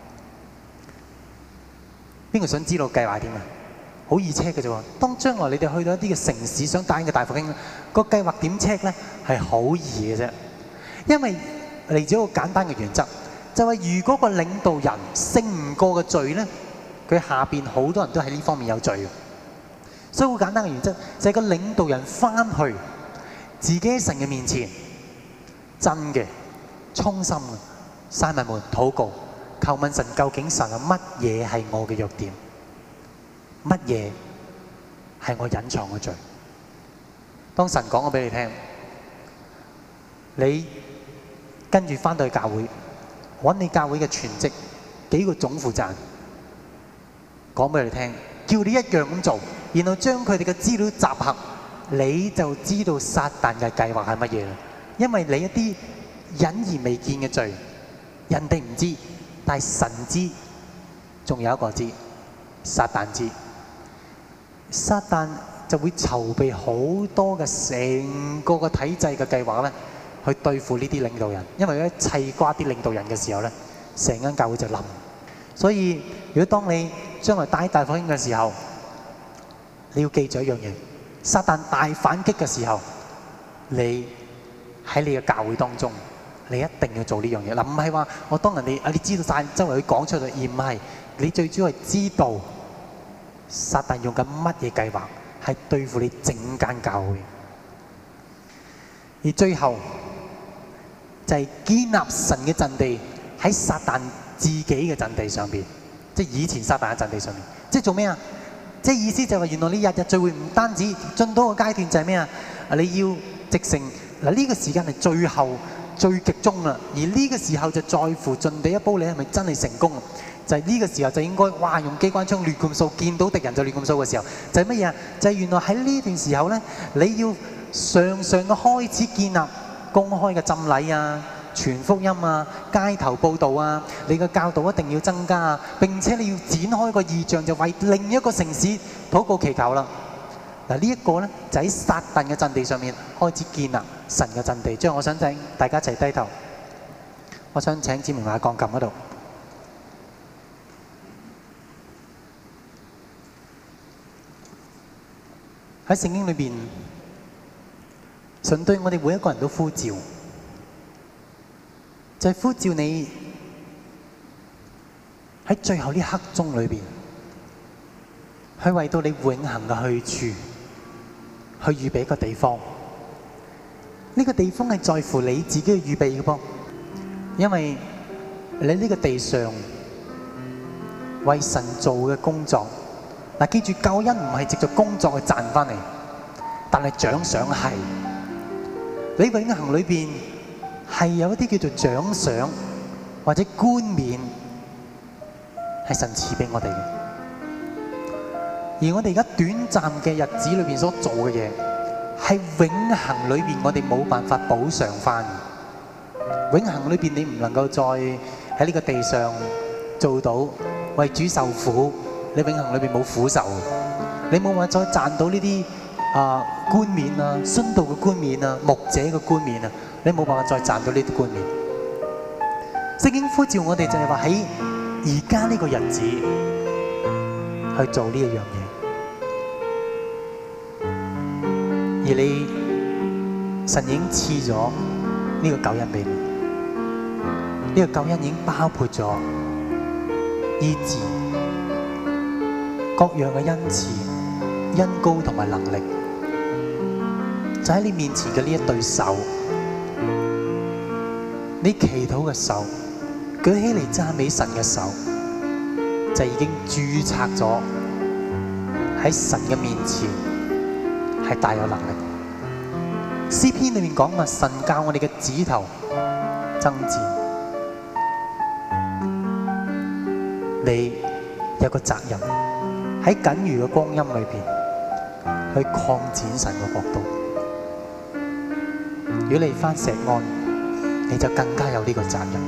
邊個想知道計劃點啊？好易 check 嘅啫喎。當將來你哋去到一啲嘅城市，想帶嘅大復興咧，個計劃點 check 咧？係好易嘅啫。因為嚟自一個簡單嘅原則，就係如果個領導人勝唔過嘅罪咧，佢下邊好多人都喺呢方面有罪嘅。所以好簡單嘅原則就係個領導人翻去自己喺神嘅面前，真嘅、衷心嘅，閂埋門禱告，求問神究竟神啊乜嘢係我嘅弱點，乜嘢係我隱藏嘅罪。當神講咗俾你聽，你跟住翻到去教會，揾你教會嘅全職幾個總負責人講俾你聽，叫你一樣咁做，然後將佢哋嘅資料集合，你就知道撒旦嘅計劃係乜嘢啦。因為你一啲隱而未見嘅罪，人哋唔知，但係神知，仲有一個知，撒旦知。撒旦就會籌備好多嘅成個個體制嘅計劃咧，去對付呢啲領導人。因為一砌瓜啲領導人嘅時候咧，成間教會就冧。所以如果當你將來帶大復興嘅時候，你要記住一樣嘢：撒旦大反擊嘅時候，你喺你嘅教會當中，你一定要做呢樣嘢。嗱，唔係話我當人哋啊，你知道晒周圍去講出嚟，而唔係你最主要係知道撒旦用緊乜嘢計劃，係對付你整間教會。而最後就係建立神嘅陣地喺撒旦自己嘅陣地上邊，即係以前撒旦嘅陣地上面，即係做咩啊？即係意思就係話，原來你日日聚會唔單止進到個階段就係咩啊？你要直成嗱，呢個時間係最後最極終啦，而呢個時候就在乎盡地一煲，你係咪真係成功？就係呢個時候就應該哇用機關槍亂咁掃，見到敵人就亂咁掃嘅時候，就係乜嘢啊？就係原來喺呢段時候咧，你要常常嘅開始建立公開嘅浸禮啊、傳福音啊、街頭報導啊，你嘅教導一定要增加啊！並且你要展開個異象，就為另一個城市禱告祈求啦。嗱，呢一個咧就喺撒旦嘅陣地上面開始建立神嘅陣地。將我想請大家一齊低頭，我想請子明喺鋼琴嗰度。喺聖經裏邊，神對我哋每一個人都呼召，就係呼召你喺最後呢刻鐘裏邊，去為到你永恆嘅去處，去預備一個地方。呢個地方係在乎你自己去預備嘅噃，因為你呢個地上為神做嘅工作。嗱，記住，救恩唔係藉著工作去賺翻嚟，但係獎賞係。你永恆裏邊係有一啲叫做獎賞或者冠冕，係神賜俾我哋嘅。而我哋而家短暫嘅日子裏邊所做嘅嘢，係永恆裏邊我哋冇辦法補償翻。永恆裏邊你唔能夠再喺呢個地上做到為主受苦。你永恆裏邊冇苦受，你冇辦法再賺到呢啲啊冠冕啊、殉道嘅冠冕啊、牧者嘅冠冕啊，你冇辦法再賺到呢啲冠冕。聖經呼召我哋就係話喺而家呢個日子去做呢一樣嘢，而你神已經賜咗呢個救恩俾你，呢個救恩已經包括咗醫治。各樣嘅恩賜、恩膏同埋能力，就喺你面前嘅呢一對手， 你祈禱嘅手，舉起嚟讚美神嘅手，就已經註冊咗喺神嘅面前係大有能力。詩篇裏面講話，神教我哋嘅指頭爭戰，你有個責任喺僅餘嘅光陰裏邊去擴展神嘅國度。如果你返石安，你就更加有呢個責任。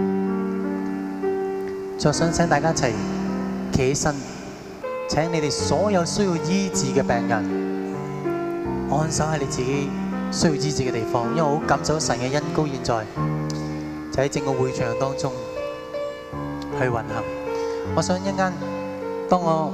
就想請大家一齊企起身，請你哋所有需要醫治嘅病人按手喺你自己需要醫治嘅地方，因為我好感受到神嘅恩膏現在就喺整個會場當中去運行。我想一陣間，當我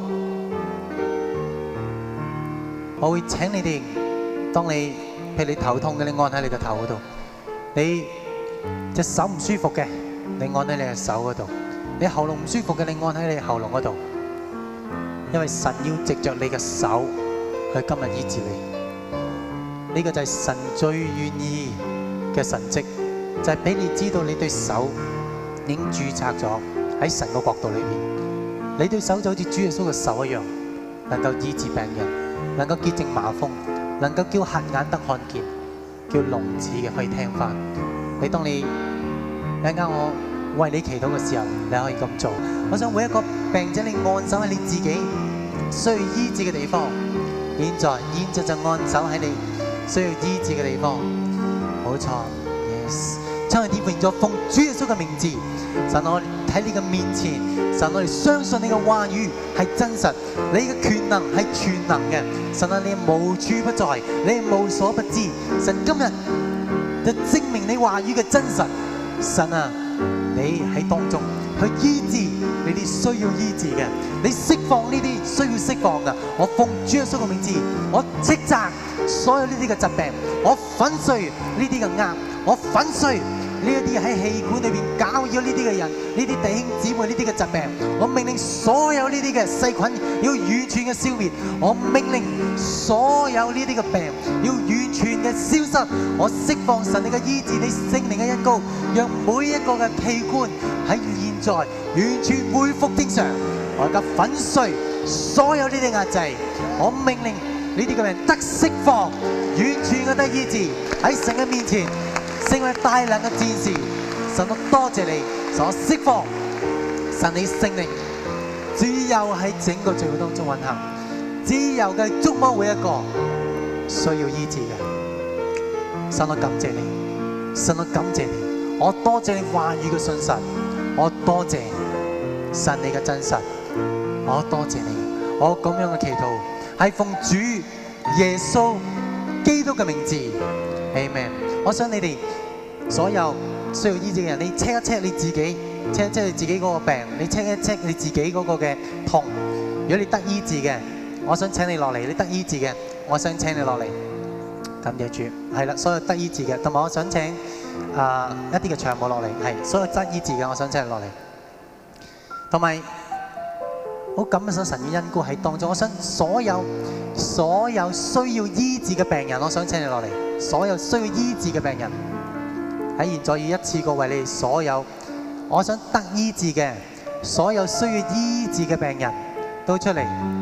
我會請你哋，當你譬如你頭痛嘅，你按喺你個頭嗰度；你隻手唔舒服嘅，你按喺你嘅手嗰度；你喉嚨唔舒服嘅，你按喺你喉嚨嗰度。因為神要藉着你嘅手去今日醫治你。呢個就係神最願意嘅神蹟，就係俾你知道你對手已經註冊咗喺神嘅國度裏邊。你對手就好似主耶穌嘅手一樣，能夠醫治病人，能夠潔淨麻風，能夠叫瞎眼得看見，叫聾子嘅可以聽翻。你當你一陣間我為你祈禱嘅時候，你可以咁做。我想每一個病者，你按手喺你自己需要醫治嘅地方。現在，現在就按手喺你需要醫治嘅地方。冇錯 ，yes。真係點變咗奉主耶穌嘅名字，神我喺你嘅面前，神我哋相信你嘅話語係真實，你嘅權能係全能嘅。神啊，你無處不在，你無所不知。神今日就證明你話語嘅真實。神啊，你喺當中去醫治你啲需要醫治嘅，你釋放呢啲需要釋放嘅。我奉主耶穌嘅名字，我斥責所有呢啲嘅疾病，我粉碎呢啲嘅壓，我粉碎呢一啲喺氣管裏邊搞擾呢啲嘅人，呢啲弟兄姊妹呢啲嘅疾病，我命令所有呢啲嘅細菌要完全嘅消滅，我命令所有呢啲嘅病要完全嘅消失，我釋放神你嘅醫治，你聖靈嘅恩膏，讓每一個嘅器官喺現在完全恢復正常，我而家粉碎所有呢啲壓制，我命令呢啲嘅病得釋放，完全嘅得醫治喺神嘅面前。成為大能嘅戰士，神我多謝你，神我釋放，神你聖靈自由喺整個聚會當中運行，自由嘅觸摸每一個需要醫治嘅。神我感謝你，神我感謝你，我多謝你話語嘅信實，我多謝神你嘅真實，我多謝你，我咁樣嘅祈禱係奉主耶穌基督嘅名字 ，Amen。我想你哋所有需要醫治嘅人，你 check 一 check 你自己 ，check 一 check 你自己嗰個病，你 check 一 check 你自己嗰個嘅痛。如果你得醫治嘅，我想請你落嚟；你得醫治嘅，我想請你落嚟。感謝主，係啦，所有得醫治嘅，同埋我想請啊、呃、一啲嘅長務落嚟，係所有得醫治嘅，我想請你落嚟。同埋好感謝神嘅恩膏喺當中，我想所有所有需要醫治嘅病人，我想請你落嚟。所有需要醫治嘅病人喺現在要一次過為你哋所有我想得醫治嘅所有需要醫治嘅病人都出嚟，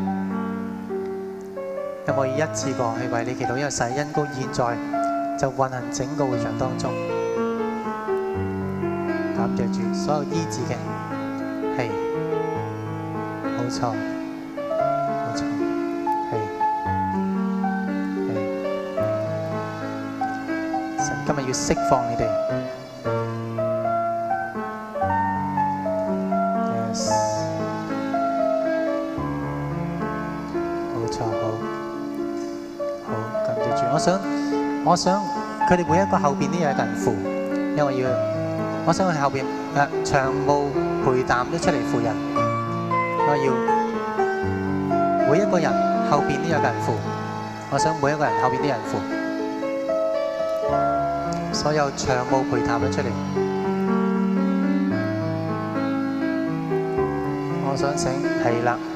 有冇要一次過去為你祈禱？因為神恩膏現在就運行整個會場當中，感謝住所有醫治嘅，係冇錯冇錯，係。今日要釋放你哋 ，yes， 冇錯，好，好，感謝主。我想，我想佢哋每一個後邊都有一個人扶，因為我要，我想佢後邊誒長務陪談都出嚟扶人，我要每一個人後邊都有個人扶，我想每一個人後邊都有人扶。所有長務陪談咗出嚟，我想請係啦，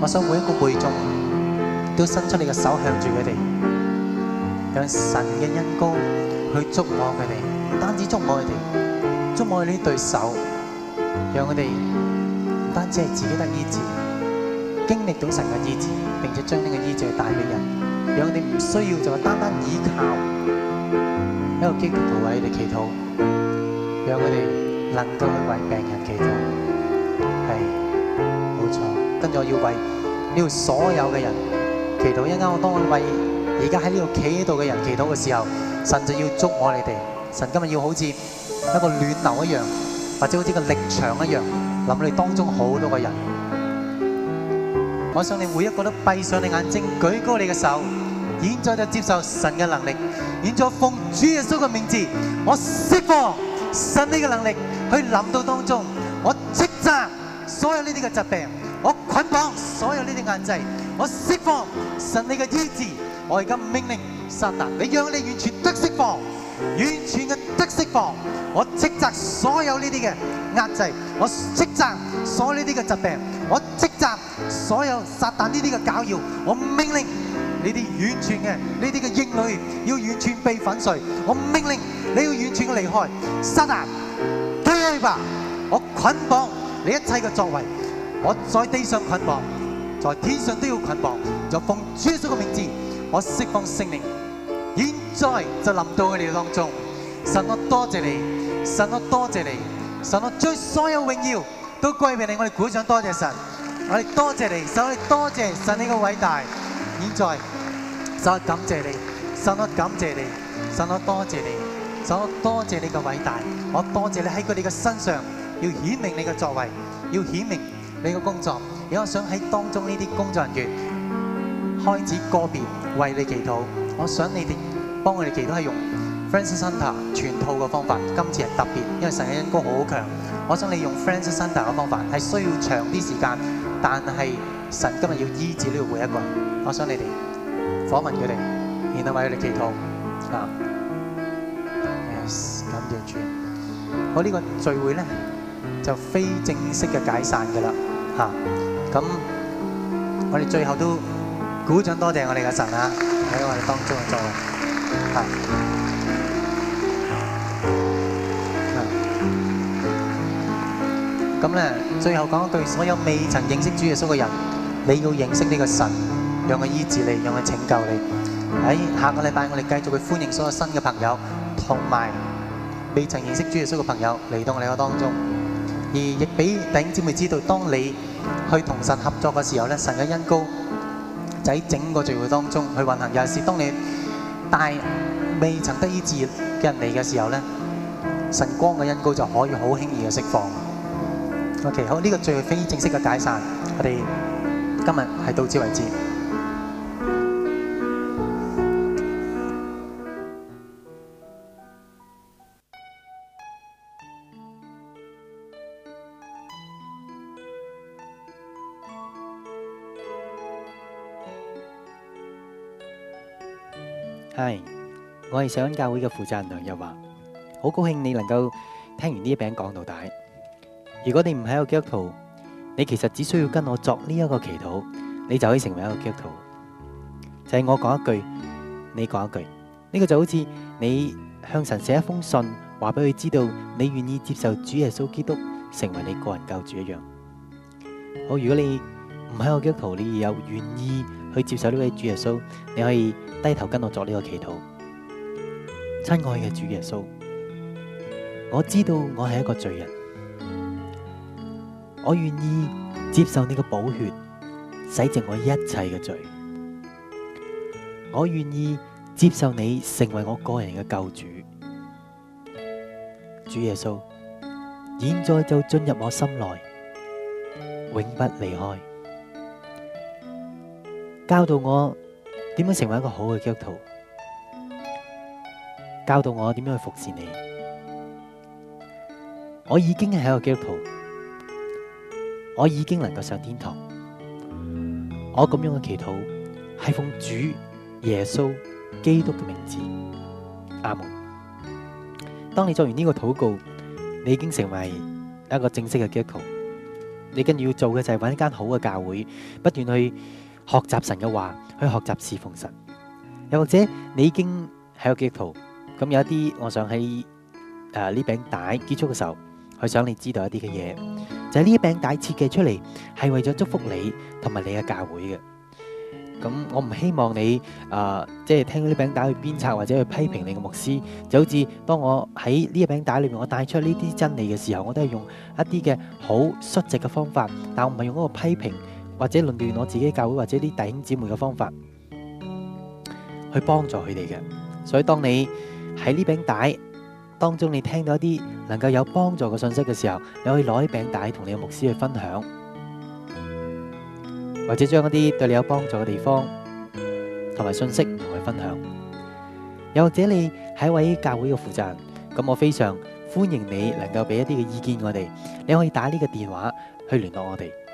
我想每一個會眾都伸出你嘅手向住佢哋，讓神嘅恩膏去觸摸佢哋，唔單止觸摸佢哋，觸摸佢呢對手，讓佢哋唔單止係自己得醫治，經歷到神嘅醫治，並且將呢個醫治帶俾人，讓佢哋唔需要就係單單依靠一個基督徒為佢哋祈禱，讓佢哋能夠去為病人祈禱。係，冇錯。跟住我要為呢度所有嘅人祈禱。一陣間我當我為而家喺呢度企喺度嘅人祈禱嘅時候，神就要捉我哋哋。神今日要好似一個暖流一樣，或者好似個力場一樣，臨你當中好多個人。我想你每一個都閉上你眼睛，舉高你嘅手，現在就接受神嘅能力。現在奉主耶穌嘅名字，我釋放神呢個能力去臨到當中，我斥責所有呢啲嘅疾病，我捆綁所有呢啲限制，我釋放神你嘅醫治。我而家命令撒旦，你讓你完全得釋放，完全嘅得釋放。我斥責所有呢啲嘅壓制，我斥責所有呢啲嘅疾病，我斥責所有撒旦呢啲嘅攪擾。我命令你哋完全嘅呢啲嘅應許要完全被粉碎。我命令你要完全嘅離開。撒旦，退去吧！我捆綁你一切嘅作為，我在地上捆綁，在天上都要捆綁。就奉主耶穌嘅名字，我釋放聖靈，現在就臨到佢哋當中。神，我多謝你，神，我多謝你，神，我將所有榮耀都歸俾你。我哋鼓掌多謝神，我哋多謝你，神，我哋多謝神你嘅偉大。現在神，我感謝你，神，我感謝你，神，我多謝你，神，我多謝你嘅偉大。我多謝你喺佢哋嘅身上要顯明你嘅作為，要顯明你嘅工作。而我想喺當中呢啲工作人員開始個別為你祈禱。我想你哋幫我哋祈禱係用 Francis Hunter 全套嘅方法。今次係特別，因為神嘅恩膏好強。我想你用 Francis Hunter 嘅方法係需要長啲時間，但係神今日要醫治呢個每一個人。我想你哋訪問佢哋，然後為佢哋祈禱。啊 ，yes， 感謝主。我呢個聚會咧就非正式嘅解散㗎啦，嚇、啊。咁我哋最後都鼓掌多謝我哋嘅神啊，喺我哋當中嘅作為，嚇、啊。咁咧，最後講一句，所有未曾認識主耶穌嘅人，你要認識呢個神，讓佢醫治你，讓佢拯救你。喺下個禮拜，我哋繼續去歡迎所有新嘅朋友，同埋未曾認識主耶穌嘅朋友嚟到我哋嘅當中，而亦俾弟兄姊妹知道，當你去同神合作嘅時候咧，神嘅恩膏就喺整個聚會當中去運行。尤其是當你帶未曾得醫治嘅人嚟嘅時候咧，神光嘅恩膏就可以好輕易嘅釋放。OK， 好，呢個最非正式嘅解散，我哋今日係到此為止。 係，我係上恩教會嘅負責人梁日華，好高興你能夠聽完呢一餅講到底。如果你唔係一個基督徒，你其實只需要跟我作呢一個祈禱，你就可以成為一個基督徒。就係我講一句，你講一句，呢個就好似你向神寫一封信，話俾佢知道你願意接受主耶穌基督成為你個人救主一樣。好，如果你唔係一個基督徒，你有願意去接受呢位主耶穌，你可以低頭跟我作呢個祈禱。親愛嘅主耶穌，我知道我係一個罪人，我願意接受你嘅寶血洗淨我一切嘅罪，我願意接受你成為我個人嘅救主。主耶穌，現在就進入我心內，永不離開，教導我點樣成為一個好嘅基督徒，教導我點樣去服侍你。我已經係一個基督徒，我已經能夠上天堂。我咁樣嘅祈禱係奉主耶穌基督嘅名字，阿門。當你做完呢個禱告，你已經成為一個正式嘅基督徒。 你跟住要做嘅就係揾一間好嘅教會，不斷去學習神嘅話，去學習侍奉神。又或者你已經係個基督徒，咁有一啲，我想喺誒呢餅帶結束嘅時候，去想你知道一啲嘅嘢，就係呢一餅帶設計出嚟係為咗祝福你同埋你嘅教會嘅。咁我唔希望你誒即係聽到呢餅帶去鞭策或者去批評你嘅牧師，就好似當我喺呢一餅帶裏面我帶出呢啲真理嘅時候，我都係用一啲嘅好率直嘅方法，但我唔係用嗰個批評或者論斷我自己教會或者啲弟兄姊妹嘅方法去幫助佢哋嘅。所以當你喺呢餅帶當中，你聽到一啲能夠有幫助嘅信息嘅時候，你可以攞呢餅帶同你嘅牧師去分享，或者將一啲對你有幫助嘅地方同埋信息同佢分享。又或者你係一位教會嘅負責人，咁我非常歡迎你能夠俾一啲嘅意見我哋。你可以打呢個電話去聯絡我哋，